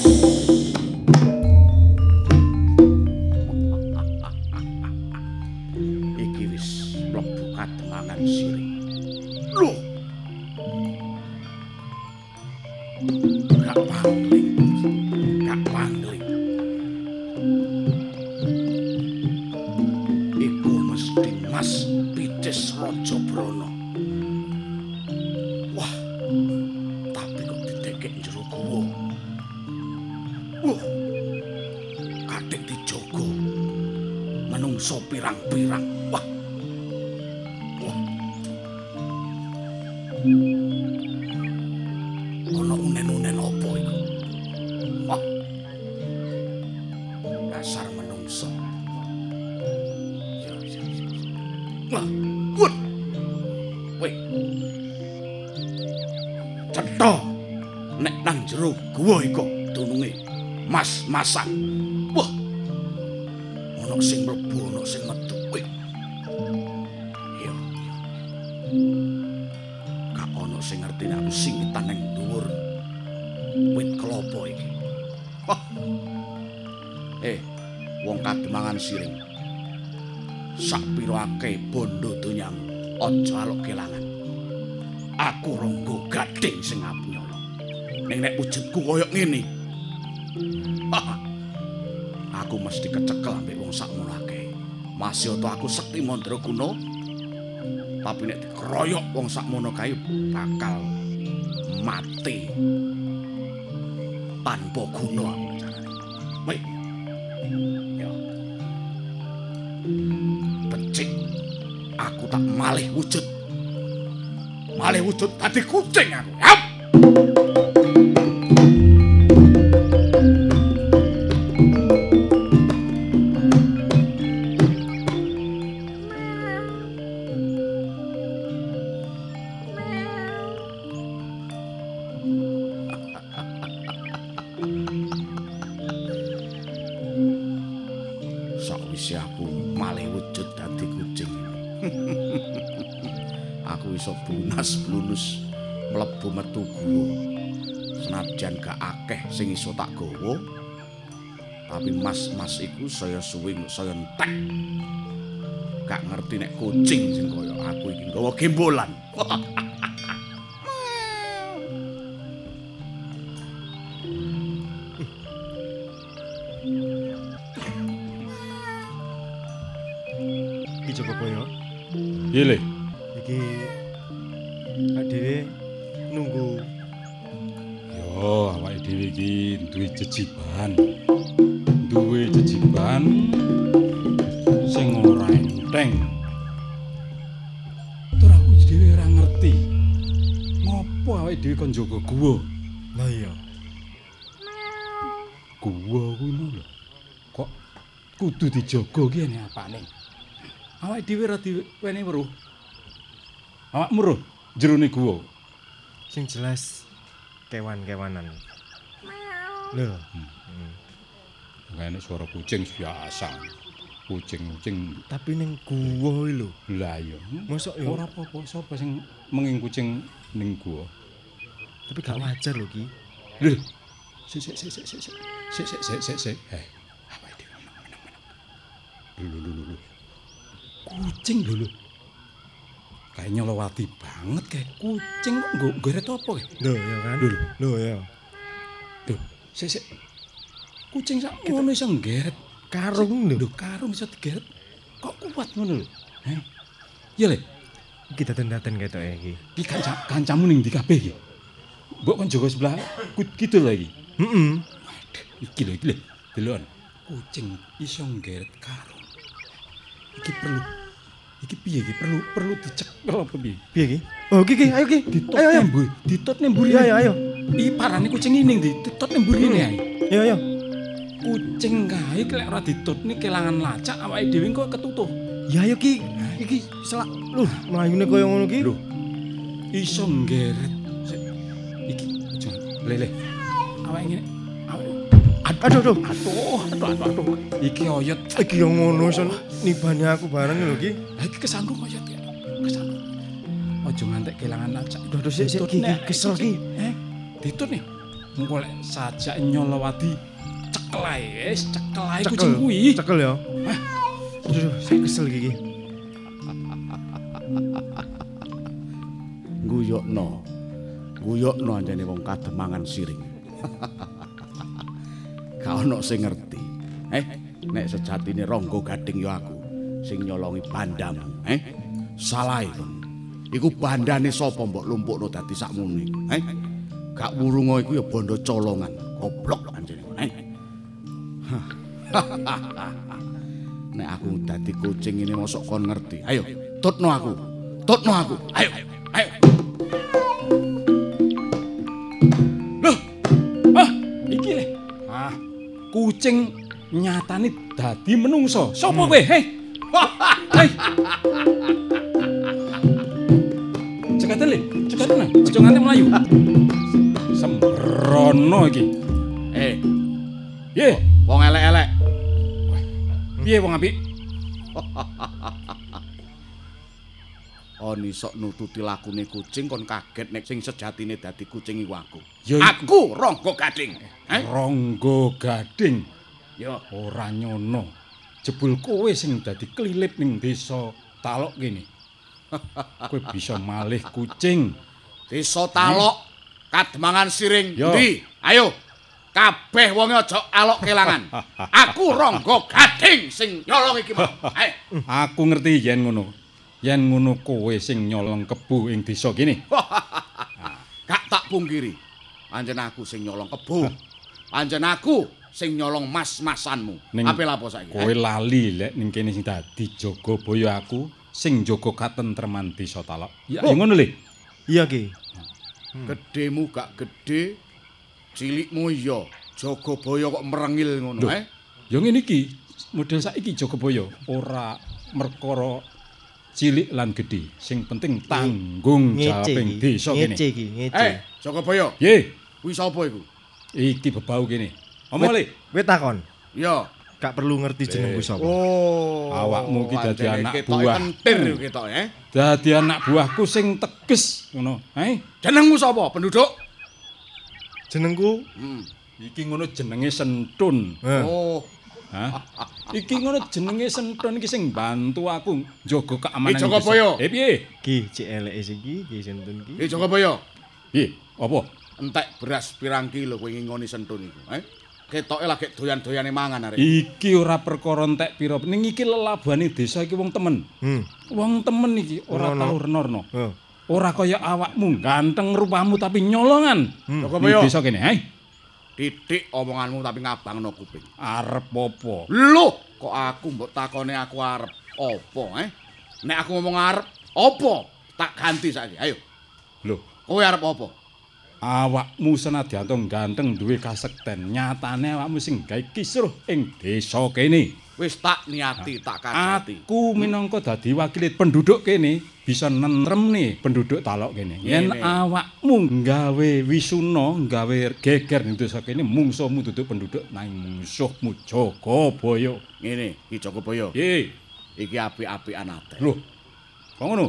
Mas-masan. Wah. Ono sing mlebu, ono sing metu. Wih. Iya. Gak ono sing ngerti nek aku singitan ning dhuwur wit kelapa iki. Wah. Eh, wong kademangan siring. Sak pira akeh bondo donyamu, aja alok kelangan. Aku Rangga Gading sing arep nyolong. Ning nek wujudku koyo ngene, aku mesti kecekel ambek wong sakmono akeh. Masih to aku Sekti Mandraguna, tapi nek dikeroyok wong sakmono kae bakal mati tanpa guna. Wih. Ya. Becik aku tak malih wujud. Malih wujud dadi kucing aku. Yap. Sakwise aku malih wujud dadi kucing. Aku iso bunas-blunus mlebu metu guwa. Senajan gak akeh sing iso tak gawa. Tapi mas-mas iku saya suwi saya entek. Gak ngerti nek kucing sing kaya aku iki nggawa gembolan. Iki Jogobaya. Iya, Le. Iki dhewe nunggu. Yo, awake dhewe iki duwe jejiban. Duwe jejiban sing ora enteng. Tur aku dhewe ora ngerti. Ngopo awake dhewe kon njaga guwa? Lah iya. Guwa kuwi lho. Kok kudu dijaga ki ene apane? Awake dhewe ora diweni weruh. Awakmu weruh jerone guwa. Sing jelas kewan-kewanan. Lho. Hmm. Kayane suara kucing biasa. Kucing-kucing tapi ning guwa lho. Lah iya. Mosok ya ora apa-apa sapa sing menging kucing ning guwa. Tapi gak wajar lho ki. Lho. Sik sik sik sik sik. Sik sik sik sik sik. Eh. Apa iki meneng-meneng. Lho lho lho. Kucing lho lho. Kayak nyolowati banget kayak kucing kok nggo geret apa kayak? Lho ya kan. Lho lho ya. Lho, sik sik. Kucing sak ngono iso nggeret karung lho. Lho karung iso digeret. Kok kuat ngono lho. Heh. Iya Le. Iki daten-daten ketoke iki. Iki kanca kancamu ning ndi kabeh iki? Mbok kon jaga sebelah kidul lho iki. Heeh. Iki lho iki lho. Delon. Kucing iso nggeret karung. Iki perlu iki piye iki perlu perlu dicekel apa piye? Piye iki? Oh iki iki ayo iki. Ayo ayo mburi. Ditut ning mburi. Ayo ayo. Iki parane kucing ini ditut ning mburi ne ae. Ayo ayo. Kucing kae lek ora ditutne kelangan lacak awake dhewe kok ketutuh. Ya ayo ki. Iki selak lho mlayune koyo ngono ki. Lho. Iso nggeret. Iki aja lele. Awake ngene. Aduh aduh. Aduh, aduh aduh aduh. Iki oyot. Iki yo ngono son nibane aku bareng lho ki. Iki kesanggung oyot ya. Kesanggung. Aja ngantek kelangan lacak. Aduh aduh sik sik ki kesel ki. Eh, ditut nih. Engko lek sajak nyolowati cekel ae, wis cekel ae kucing kuwi. Cekel ya. Hah. Aduh, sik kesel iki. Guyokno. Guyokno anjene wong kademangan siring. Gak ono sing ngerti. Eh, nek sejatine Rangga Gading ya aku sing nyolongi bandamu, eh? Salah kon. Iku bandane sapa mbok lumpukno dadi sakmene, eh? Gak wurunga iku ya bondo colongan, goblok anjene, eh? Nek aku dadi kucing ini mosok kon ngerti. Ayo, tutno aku. Tutno aku. Ayo, ayo. Loh. Ah, iki le. Ah, kucing nyatane dadi menungso. Sopo kowe? Hei. Hei. Cekaten le, cekaten. Aja nganti mlayu. Sembrono iki. Eh. Piye? Wong elek-elek. Piye wong apik? On iso nututi lakune kucing kon kaget nek sing sejatine dadi kucing iku aku. Ya aku Rangga Gading. Eh? Rangga Gading. Ya ora nyono. Jebul kowe sing dadi klilip ning desa Talok kene. Kowe bisa malih kucing. Desa Talok, Kademangan Siring Yo. ndi? Ayo. Kabeh wonge aja alok kelangan. Aku Rangga Gading sing nyolong iki mau. Ayo. Aku ngerti yen ngono. Yen ngono kowe sing nyolong kebu ing desa kene. Gak Gak tak pungkiri. Anjen aku sing nyolong kebo. Anjen aku sing nyolong mas-masanmu. Ape lapo saiki? Kowe lali lek ning kene sing dadi Jagabaya aku sing jaga katentreman desa Talok. Ya oh. Ngono le. Iya Ki. Hmm. Gedemu gak gede, cilikmu iya. Jagabaya kok merengil ngono, Duh, eh? Ya ngene iki, model saiki Jagabaya ora merkara cilik lan gedhe, sing penting tanggung jawab ing desa kene. Ngece iki, ngece. Eh, Jagabaya. Ye, kuwi sapa iku? Iki bebau kene. Omong le. Kowe takon. Iya. Gak perlu ngerti jenengku sapa. Oh, awakmu ki dadi anak ketok buah. Kentir ketok, eh. Dadi anak buahku sing teges ngono, eh. Jenengmu sapa, penduduk? Jenengku hmm. Iki ngono jenenge Sentun. Oh. Hah? Iki ngono jenenge Sentun iki sing bantu aku njaga keamanan. Ki Jagabaya. Eh piye? Ki cek eleke iki, Ki Sentun ki. Ki Jagabaya. Piye? Apa? Entek beras pirang kilo kowe ngingoni Sentun iku, eh? Ketoke lagi doyan-doyane mangan arek. Iki ora perkara entek pira. Ning iki lelabane desa iki wong temen. Hmm. Wong temen iki ora no, tau no. renorno. Oh. Ora kaya awakmu ganteng rupamu tapi nyolongan. Hmm. Jagabaya. Desa kene, hai. Titik omonganmu tapi ngabangno kuping. Arep apa? Lho, kok aku mbok takone aku arep apa, eh? Nek aku ngomong arep apa? Tak ganti saiki. Ayo. Lho, kowe arep apa? Awakmu senadyan ganteng duwe kasekten, nyatane awakmu sing gawe kisruh ing desa kene. Wis tak niati, tak kajati. Aku minangka dadi wakil penduduk kene bisa nentremne penduduk Talok kene. Yen awakmu gawe wisuna, gawe geger ning desa kene, mungsuhmu duduk penduduk nang mungsuhmu Jagabaya. Ngene, Ki Jagabaya. Nggih. Iki apik-apikan ate. Lho. Kok ngono?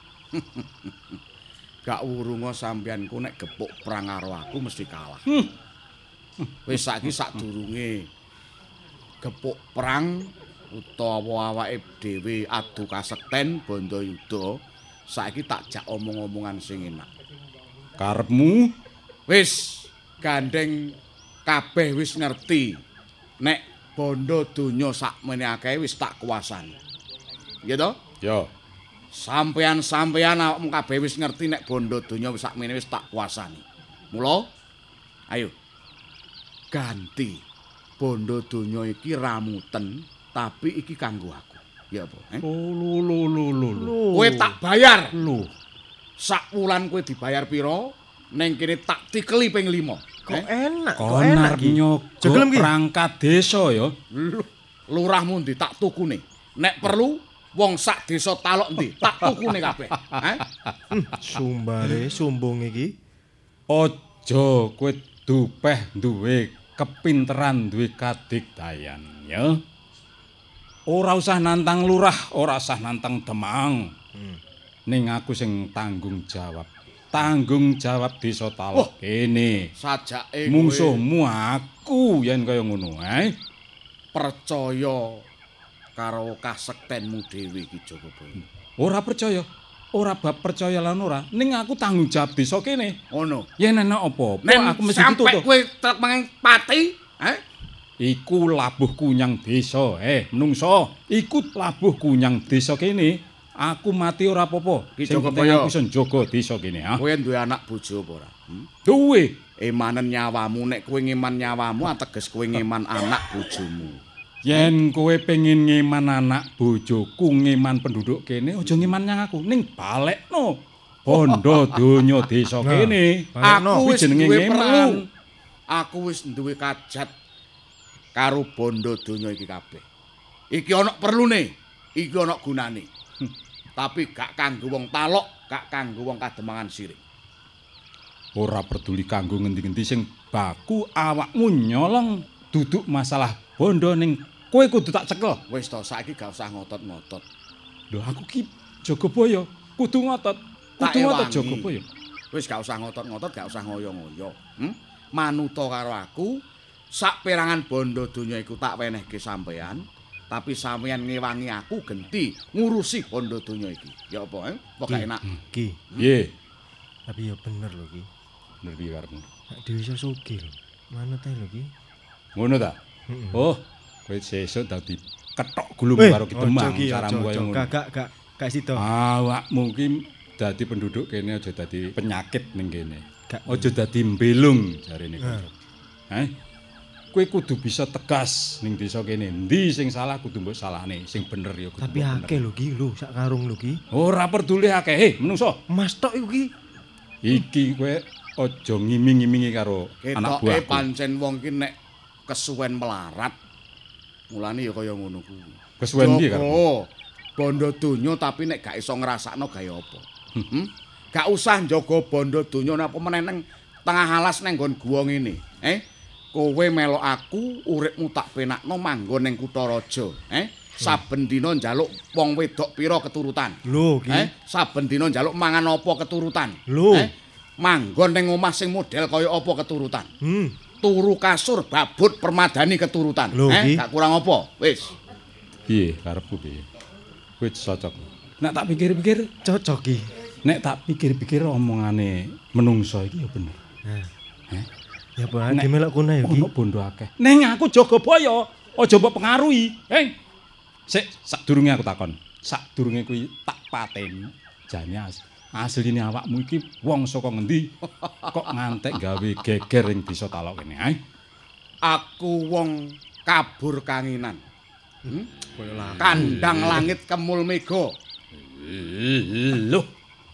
Gak wurunga sampeyanku nek gepuk perang karo aku mesti kalah. Hmm. Wis saiki sadurunge gepuk perang utawa awake dhewe adu kasekten Bandayuda, saiki tak jak omong-omongan sing enak. Karepmu wis gandeng kabeh wis ngerti nek bondo donya sakmene akeh wis tak kuasani. Iya to? Ya. Sampeyan-sampeyan awakmu kabeh wis ngerti nek bondo donya wis sakmene wis tak kuasani. Mula ayo ganti bondo donya iki ramuten tapi iki kanggo aku. Ya apa? Eh? Oh lho lho lho lho. Kowe tak bayar. Lho. Sak wulan kowe dibayar pira? Ning kene tak tikeli ping lima. Kok eh? enak, kok enak iki. Jogelem ki perangkat desa ya. Lurahmu ndi tak tukune. Nek perlu wong sak desa Talok ndi tak tukune kabeh. Heh. Sumbare sombong iki. Aja kowe dupeh duwe kepinteran duwe kadigdayan ya. Ora usah nantang lurah, ora usah nantang demang. Hmm. Ning aku sing tanggung jawab. Tanggung jawab desa Talok oh, kene. Sajake mungsuhmu aku yen kaya ngono, eh. Percaya karo kasektenmu dhewe iki Jagabaya. Ora percaya. Ora bab percaya lan ora, ning aku tanggung jawab desa kene. Ngono. Yen ana apa-apa aku mesti ditutup. Sampai kowe trek mangan pati, eh? Iku labuh kunyang desa, eh menungso. Iku labuh kunyang desa kene. Aku mati ora apa-apa. Ki Jagabaya aku iso njaga desa kene, ha. Kowe duwe anak bojo apa ora? Hmm? Duwe. Emanen nyawamu, nek kowe ngeman nyawamu ateges kowe ngeman anak bojomu. Yen kowe pengen ngeman anak bojoku, ngeman penduduk kene, aja ngeman nyang aku, ning balekno bondo donya desa kene. Aku wis duwe perlu. Aku wis duwe kajat karo bondo donya iki kabeh. Iki ana perlune, iki ana gunane. Tapi gak kanggo wong Talok, gak kanggo wong Kademangan Sirik. Ora peduli kanggo ngendi-endi sing baku awakmu nyolong duduk masalah bondo ning kowe kudu tak cekel. Wis to, saiki gak usah ngotot-ngotot. Lho aku ki Jagabaya, kudu ngotot. Kudu ngotot Jagabaya. Wis gak usah ngotot-ngotot, gak usah ngoyo-ngoyo. Hmm? Manuta karo aku, sak perangan bondo donya iku tak wenehke sampean. Tapi sampeyan ngewangi aku genti ngurusi bondo donya iki. Ya apa, eh? Apa gak enak? Ki. Piye? Tapi ya bener lho Ki. Bener piye karepmu? Nek dhewe iso sugih lho. Manut ae lho Ki. Ngono ta? Heeh. Oh, kowe sesuk dadi ketok gulung karo Kidemang caramu kaya ngono. Gak gak gak gak sida. Awakmu ki dadi penduduk kene aja dadi penyakit ning kene. aja dadi mbelung jarene kanca. Heh. Kowe kudu bisa tegas ning desa kene. Endi sing salah kudu mbok salahne, sing bener ya kudu. Tapi akeh lho Ki, lho sak karung lho Ki. Ora peduli akeh, he menungso. Mas tok iku Ki. Iki kowe aja ngiming-imingi karo anak buahku. Ketoke pancen wong ki nek kesuwen melarat. Mulane ya kaya ngono kuwi. Kesuwen piye karo? Oh, bondo donya tapi nek gak iso ngrasakno gawe apa. Hmm? Gak usah njaga bondo donya napa meneh nang tengah alas nang nggon guwa ngene. Eh? Kowe melok aku uripmu tak penakno manggon ning kutha raja. Eh? Saben dina njaluk wong wedok pira keturutan. Lho Ki. Eh? Saben dina njaluk mangan apa keturutan. Lho. Eh? Manggon ning omah sing model kaya apa keturutan. Hmm. Turu kasur babut permadani keturutan. Lho, eh? Ki. Gak kurang apa? Wis. Piye karepku piye? Kowe cocok. Nek tak pikir-pikir cocok Ki. Nek tak pikir-pikir omongane menungso iki ya bener. Nah. Heh. Ya apa nek melok kono ya Ki. Ono bondo akeh. Neng aku jaga boyo, aja mbok pengaruhi. Heng. Sik, sadurunge aku takon. Sadurunge kuwi tak pateni. Jane as. Asline awakmu iki wong saka ngendi kok ngantek gawe geger ing desa Talok kene, ae? Aku wong kabur kanginan. Hmm? Kandang langit kemul mega. Lho.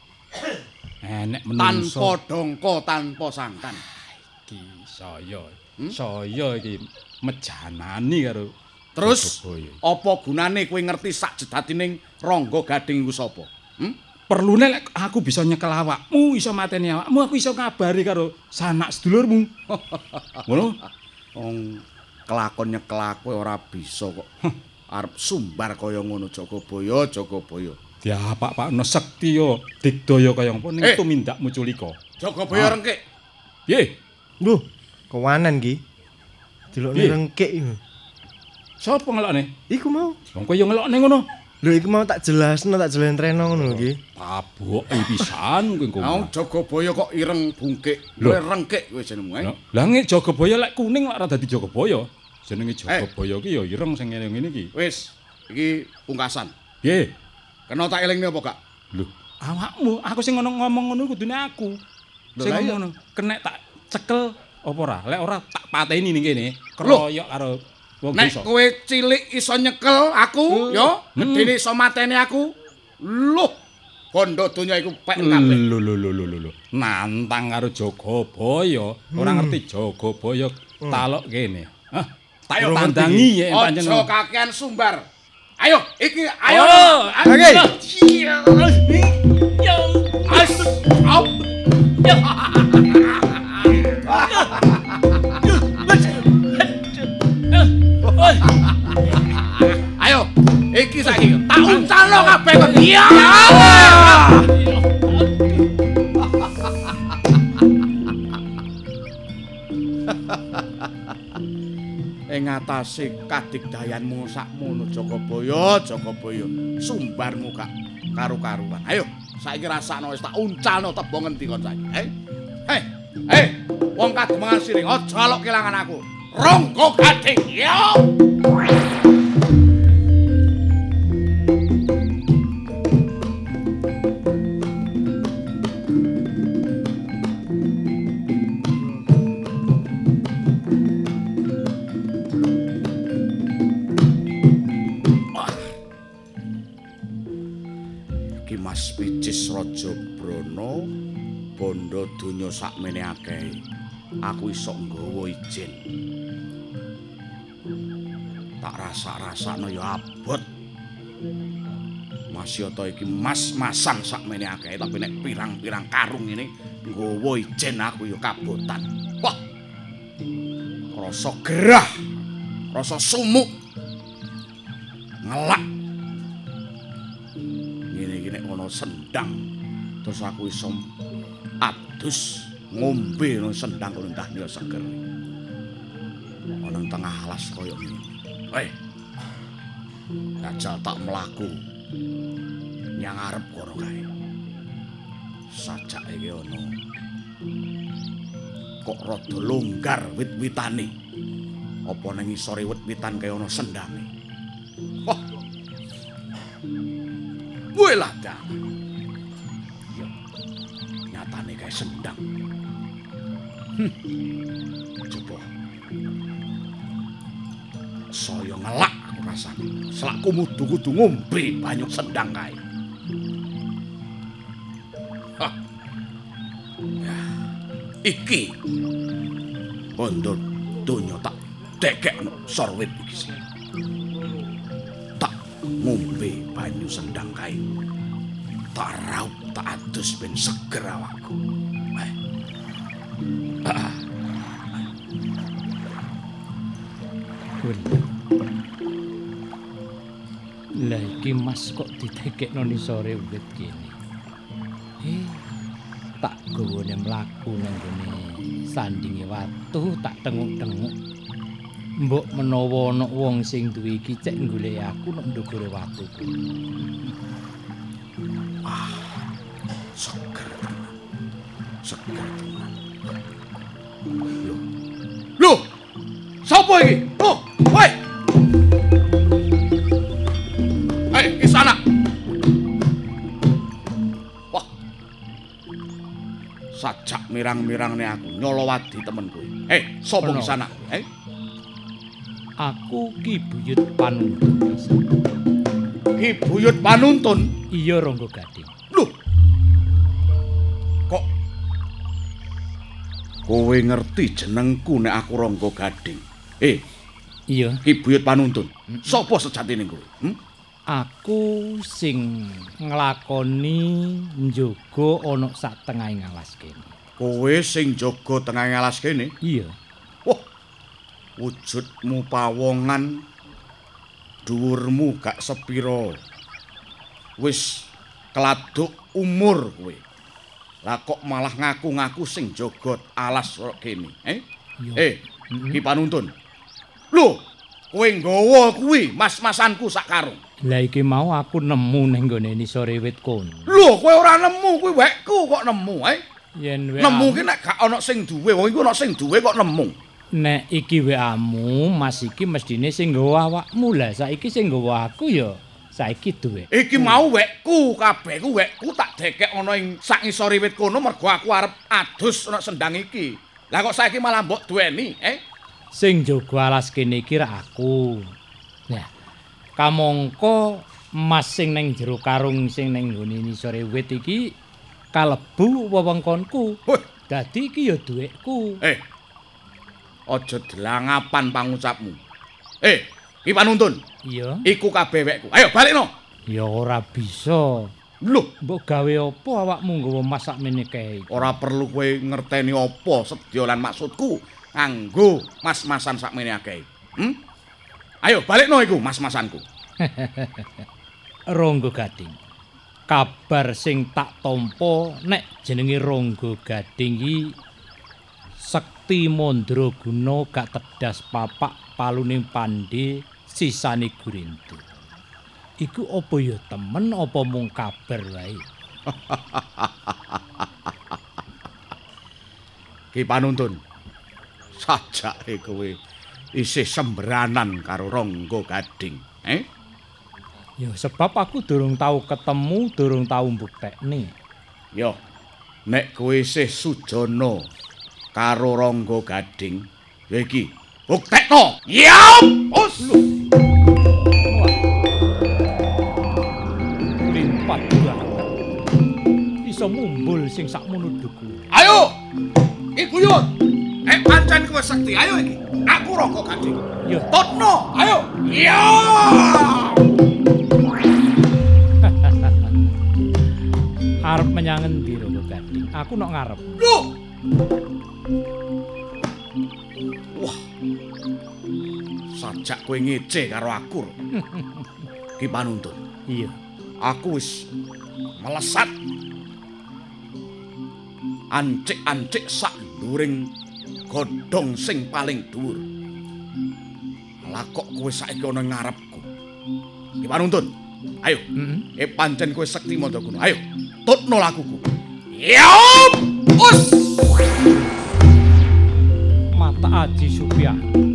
Enek menungso tanpa dongko tanpa sangkan. Iki saya. Hmm? Saya iki mejanani karo terus apa gunane kowe ngerti sak jedatining Rangga Gading iku sapa? Hmm? Perlune lek aku bisa nyekel awakmu, iso mateni awakmu, aku iso ngabari karo sanak sedulurmu. Ngono? Wong kelakon nyekel aku ora bisa kok. Arep sumbar kaya ngono Jagabaya, Jagabaya. Diapak-pakno sekti yo, digdaya kaya apa ning tumindakmu culika. Jagabaya rengkik. Piye? Lho, kewanan Ki. Dilokne rengkik iku. Sopo ngelokne? Iku mau. Wong kowe yo ngelokne ngono. Lho iki mau tak jelasno, tak jelentreno ngono Ki. Taboke pisan kowe engko. Mau Jagabaya kok ireng bungkik, kowe rengkik kowe jenengmu ae. Lah nek Jagabaya lek kuning lak ora dadi Jagabaya. Jenenge Jagabaya ki ya ireng sing ngene-ngene iki. Wis, iki pungkasan. Piye? Kena tak elingne apa gak? Lho, awakmu, aku sing ngono ngomong ngono kudune aku. Sing ngono, kenek tak cekel apa ora? Lek ora tak pateni ning kene, keroyok karo wong desa. Nek kowe cilik iso nyekel aku, yo, gedene iso mateni aku. Loh, bondo donya iku pek kabeh. Lho lho lho lho lho. Nantang karo Jagabaya, ora ngerti Jagabaya Talok kene. Hah? Tak yo tandangi ya pancen. Aja kakean sumbar. Ayo, iki ayo. Oke. Yo. As. Op. Yo. Ayo, iki saiki tak uncalno kabeh kok. Iya. Ing ngatasi kadigdayanmu sakmono Jagabaya, Jagabaya, sumbarmu gak karu-karuan. Ayo, saiki rasakno wis tak uncalno tebo ngendi kon saiki. Eh? Hei, hei, wong kademengan siring aja alok kelangan aku. Rangga Gading. Yo. Mas Picis Raja Brana bondo donya sakmene akeh. Aku iso nggawa ijin. Tak rasak-rasakno ya abot. Masyata iki mas-masan sakmene akeh tapi nek pirang-pirang karung ini nggawa ijin aku ya kabotan. Wah. Rasa gerah. Rasa sumuk. Ngelak. Nek ana sendang terus aku iso adus ngombe nang sendang kono entah niku seger. Ana tengah alas kaya ngene. Hei. Kajal tak mlaku. Nyang arep kono kae. Sajak iki ana. Kok rada longgar wit-witane. Apa nang isore wit-witan kaya ana sendange. Wah. Wela dah. Yo. Nyatane kae sendang. Coba. Saya ngelak rasane. Selak kudu-kudu ngombe banyu sendang kae. Hah. Ya, iki bondo donya tak dekekno sorwit iki. Tak ngombe banyu sendang kae. Tak raup tak adus ben seger awakku. Eh. Ah. Lah iki Mas kok didekekno ni sore wit kene. Eh, tak gowone mlaku nang gone sandinge watu tak tenguk-tenguk. Mbok menawa ana wong sing duwe iki cek golek aku nang ndogore watu kuwi. Ah, seger. Seger tenan. Loh. Loh. Sapa iki? Oh, woi. Hei, di sana. Wah. Sajak mirang-mirangne aku nyolowadi temenku. Hei, sapa di sana? Hei. Aku Ki Buyut Panuntun. Ki Buyut Panuntun? Iya, Rangga Gading. Loh. Kok kowe ngerti jenengku nek aku Rangga Gading? Eh, iya. Ki Buyut Panuntun. Sapa sejatine kowe? Hmm? Aku sing nglakoni njaga ana sak tengahing alas kene. Kowe sing jaga tengahing alas kene? Iya. Wah. Wujudmu pawongan, dhuwurmu gak sepiro. Wis keladuk umur kowe. Lah kok malah ngaku-ngaku sing jaga alas kene, eh? Iya. Eh, Ki Panuntun. Lho, kowe nggawa kuwi mas-masanku sak karung. Lah iki mau aku nemu ning gone nisore wit kono. Lho, kowe ora nemu kuwi wekku kok nemu, eh? Yen nemu ki nek gak ana sing duwe, wong iku ana sing duwe kok nemu. Nek iki wekamu, Mas iki mestine sing nggawa awakmu. Lah saiki sing nggawa aku ya saiki duwe. Iki mau wekku, kabeh ku wekku tak dekek ana ing sak ngisore wit kono mergo aku arep adus ana sendang iki. Lah kok saiki malah mbok duweni, eh? Sing jaga alas kene iki ra aku. Nah, kamangka Mas sing ning jero karung sing ning nggone nisore wit iki kalebu wewengkonku. Dadi iki ya duwekku. Eh. Aja delangapan pangucapmu. Eh, Ki Panuntun. Iya. Iku kabeh wekku. Ayo balikno. Ya ora bisa. Lho, mbok gawe apa awakmu nggawa masak mene kae? Ora perlu kowe ngerteni apa sedya lan maksudku nganggo mas-masan sakmene akeh. Hm? Ayo balikno iku mas-masanku. Rangga Gading. Kabar sing tak tampa nek jenenge Rangga Gading iki Sekti Mandraguna gak tedas papak paluning pandhe sisane Gurindu. Iku apa ya temen apa mung kabar wae? Ki Panuntun. Sajake kowe isih semberanan karo Rangga Gading, eh? Ya sebab aku durung tau ketemu, durung tau mbuktekne. Yo, nek kowe isih sujana karo Rangga Gading, ya iki buktekno. Yap! Us. Limpat banget. Iso mumbul sing sakmono dhuku. Ayo! Ki Buyut. Eh pancen kowe sekti, ayo iki. Aku Rangga Gading. Yo, totno. Ayo. Ya! Arep menyang endi Rangga Gading? Aku nok ngarep. Loh. Wah. Sajak kowe ngece karo aku. Ki Panuntun. Iya. Aku wis melesat. Ancik-ancik sak nduring godhong sing paling dhuwur. Lah kok kowe saiki ana ngarepku. Ki Panuntun. Ayo. Mm-hmm. Eh pancen kowe Sekti Mandraguna. Ayo, tutno lakuku. Yop! Us! Mata Aji Supya.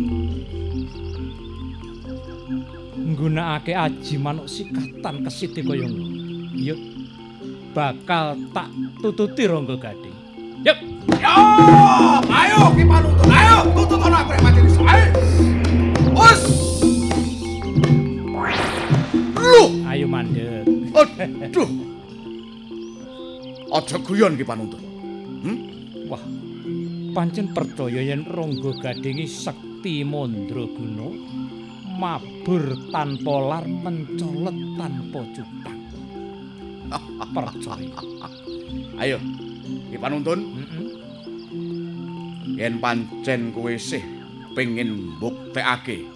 Nggunakake aji manuk sikatan kesite kaya ngono. Yuk. Bakal tak tututi Rangga Gading. Yuk. Yo! Ayo! Waduh. Aja guyon Ki Panuntun. Hmm? Wah. Pancen percaya yen Rangga Gading sekti mandraguna mabur tanpa lar mencolot tanpa cupang. Percaya. Ayo, Ki Panuntun. Heeh. Yen pancen kowe isih pengin mbuktekake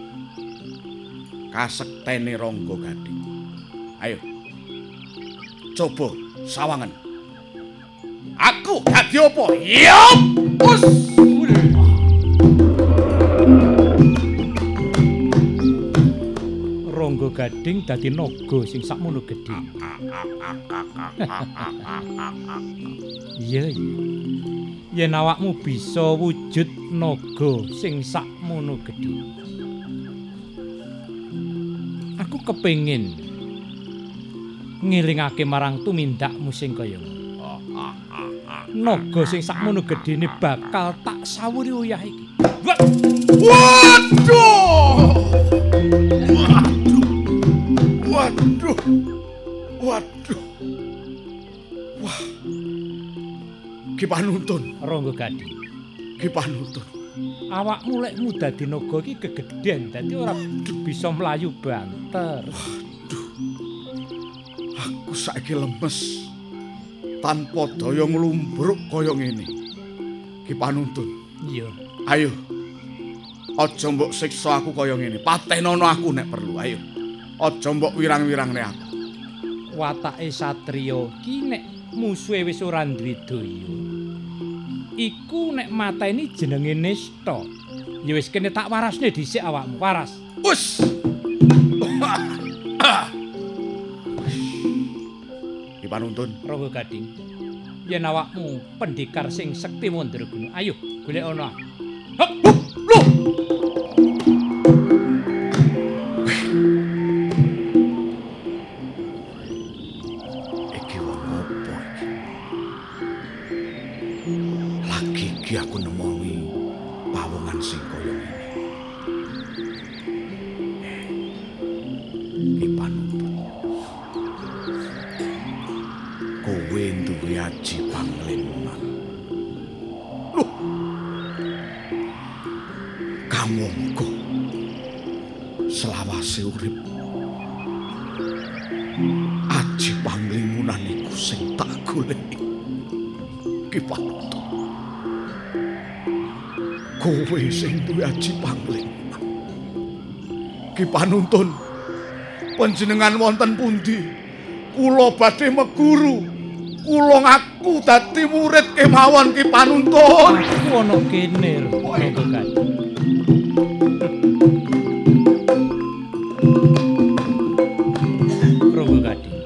kasektene Rangga Gading. Ayo. Coba sawangen. Aku dadi apa? Yup! Us! Rangga Gading dadi naga sing sakmono gedhe. Iya, iya. Yen awakmu bisa wujud naga sing sakmono gedhe. Aku kepengin ngelingake marang tumindakmu sing kaya ngono. Naga sing sakmono gedene bakal tak sawuri uyah iki. Waduh! Waduh! Waduh! Wah. Ki Panuntun, Rangga Gading. Ki Panuntun. Awakmu lekmu dadi naga iki kegedhen, dadi ora bisa mlayu banter. Waduh. Aku saiki lemes. Tanpa daya nglumbruk kaya ngene. Ki Panuntun. Iya. Ayo. Aja mbok siksa aku kaya ngene. Patenono aku nek perlu. Ayo. Aja mbok wirang-wirangne aku. Watake satriya ki nek musuhe wis ora duwe daya. Iku nek mateni jenenge nista. Ya wis kene tak warasne dhisik awakmu. Waras. Wus. Ki Panuntun, Rangga Gading. Yen awakmu pendekar sing sekti mandraguna, ayo golek ana. Hop, hop, loh. Iki wong apa iki? Lagi iki aku nemoni pawongan sing kaya ngene. Ki Panuntun. Kowe duwe aji pangliman. Loh. Kamangka selawase urip aji panglimunan iku sing tak goleki. Ki Panuntun. Kowe sing duwe aji panglimunan. Ki Panuntun. Panjenengan wonten pundi? Kula badhe meguru. Kula ngaku dadi murid kemawon Ki Panuntun. Aku ana kene, Rangga Gading. Rangga Gading.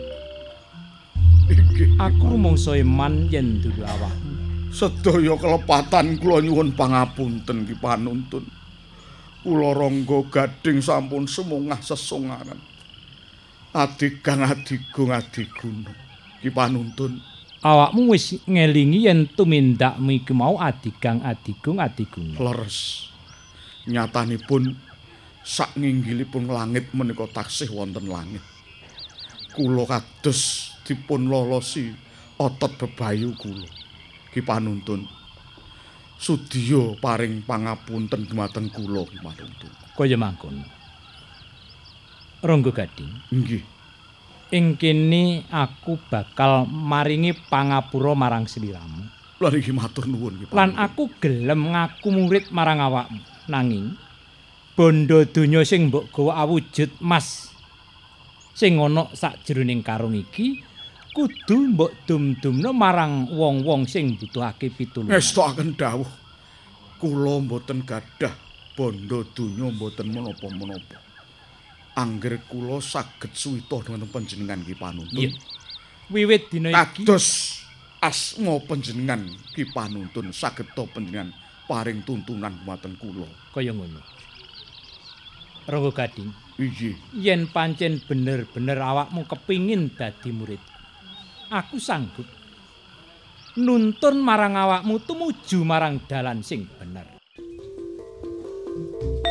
Aku rumangsa iman yen dudu awakmu. Sedaya kelepatan kula nyuwun pangapunten Ki Panuntun. Kula Rangga Gading sampun semungah sesungaran. Adigang adigung adiguna. Ki Panuntun. Awakmu wis ngelingi yen tumindakmu iki mau adigang adigung adiguna. Leres. Nyatanipun sak nginggilipun langit menika taksih wonten langit. Kula kados dipun lolosi otot bebayu kula. Ki Panuntun. Sudya paring pangapunten dumateng kula Ki Panuntun. Kaya mangkono. Rangga Gading. Nggih. Ing kene aku bakal maringi pangapura marang sliramu. Lan iki matur nuwun Ki Panuntun. Lan aku gelem ngaku murid marang awakmu. Nanging bondo donya sing mbok gawa awujud mas sing ana sakjroning karung iki kudu mbok dum-dumna marang wong-wong sing butuhake pitulungan. Ngestakaken dawuh. Kula mboten gadah bondo donya mboten menapa-menapa. Angger kula saged suwita dhumateng panjenengan Ki Panuntun. Iya. Wiwit dina iki kados asma panjenengan Ki Panuntun saged ta panjenengan paring tuntunan dhumateng kula. Kaya ngono. Rangga Gading. Iya. Yen pancen bener-bener awakmu kepingin dadi murid, aku sanggup nuntun marang awakmu tumuju marang dalan sing bener.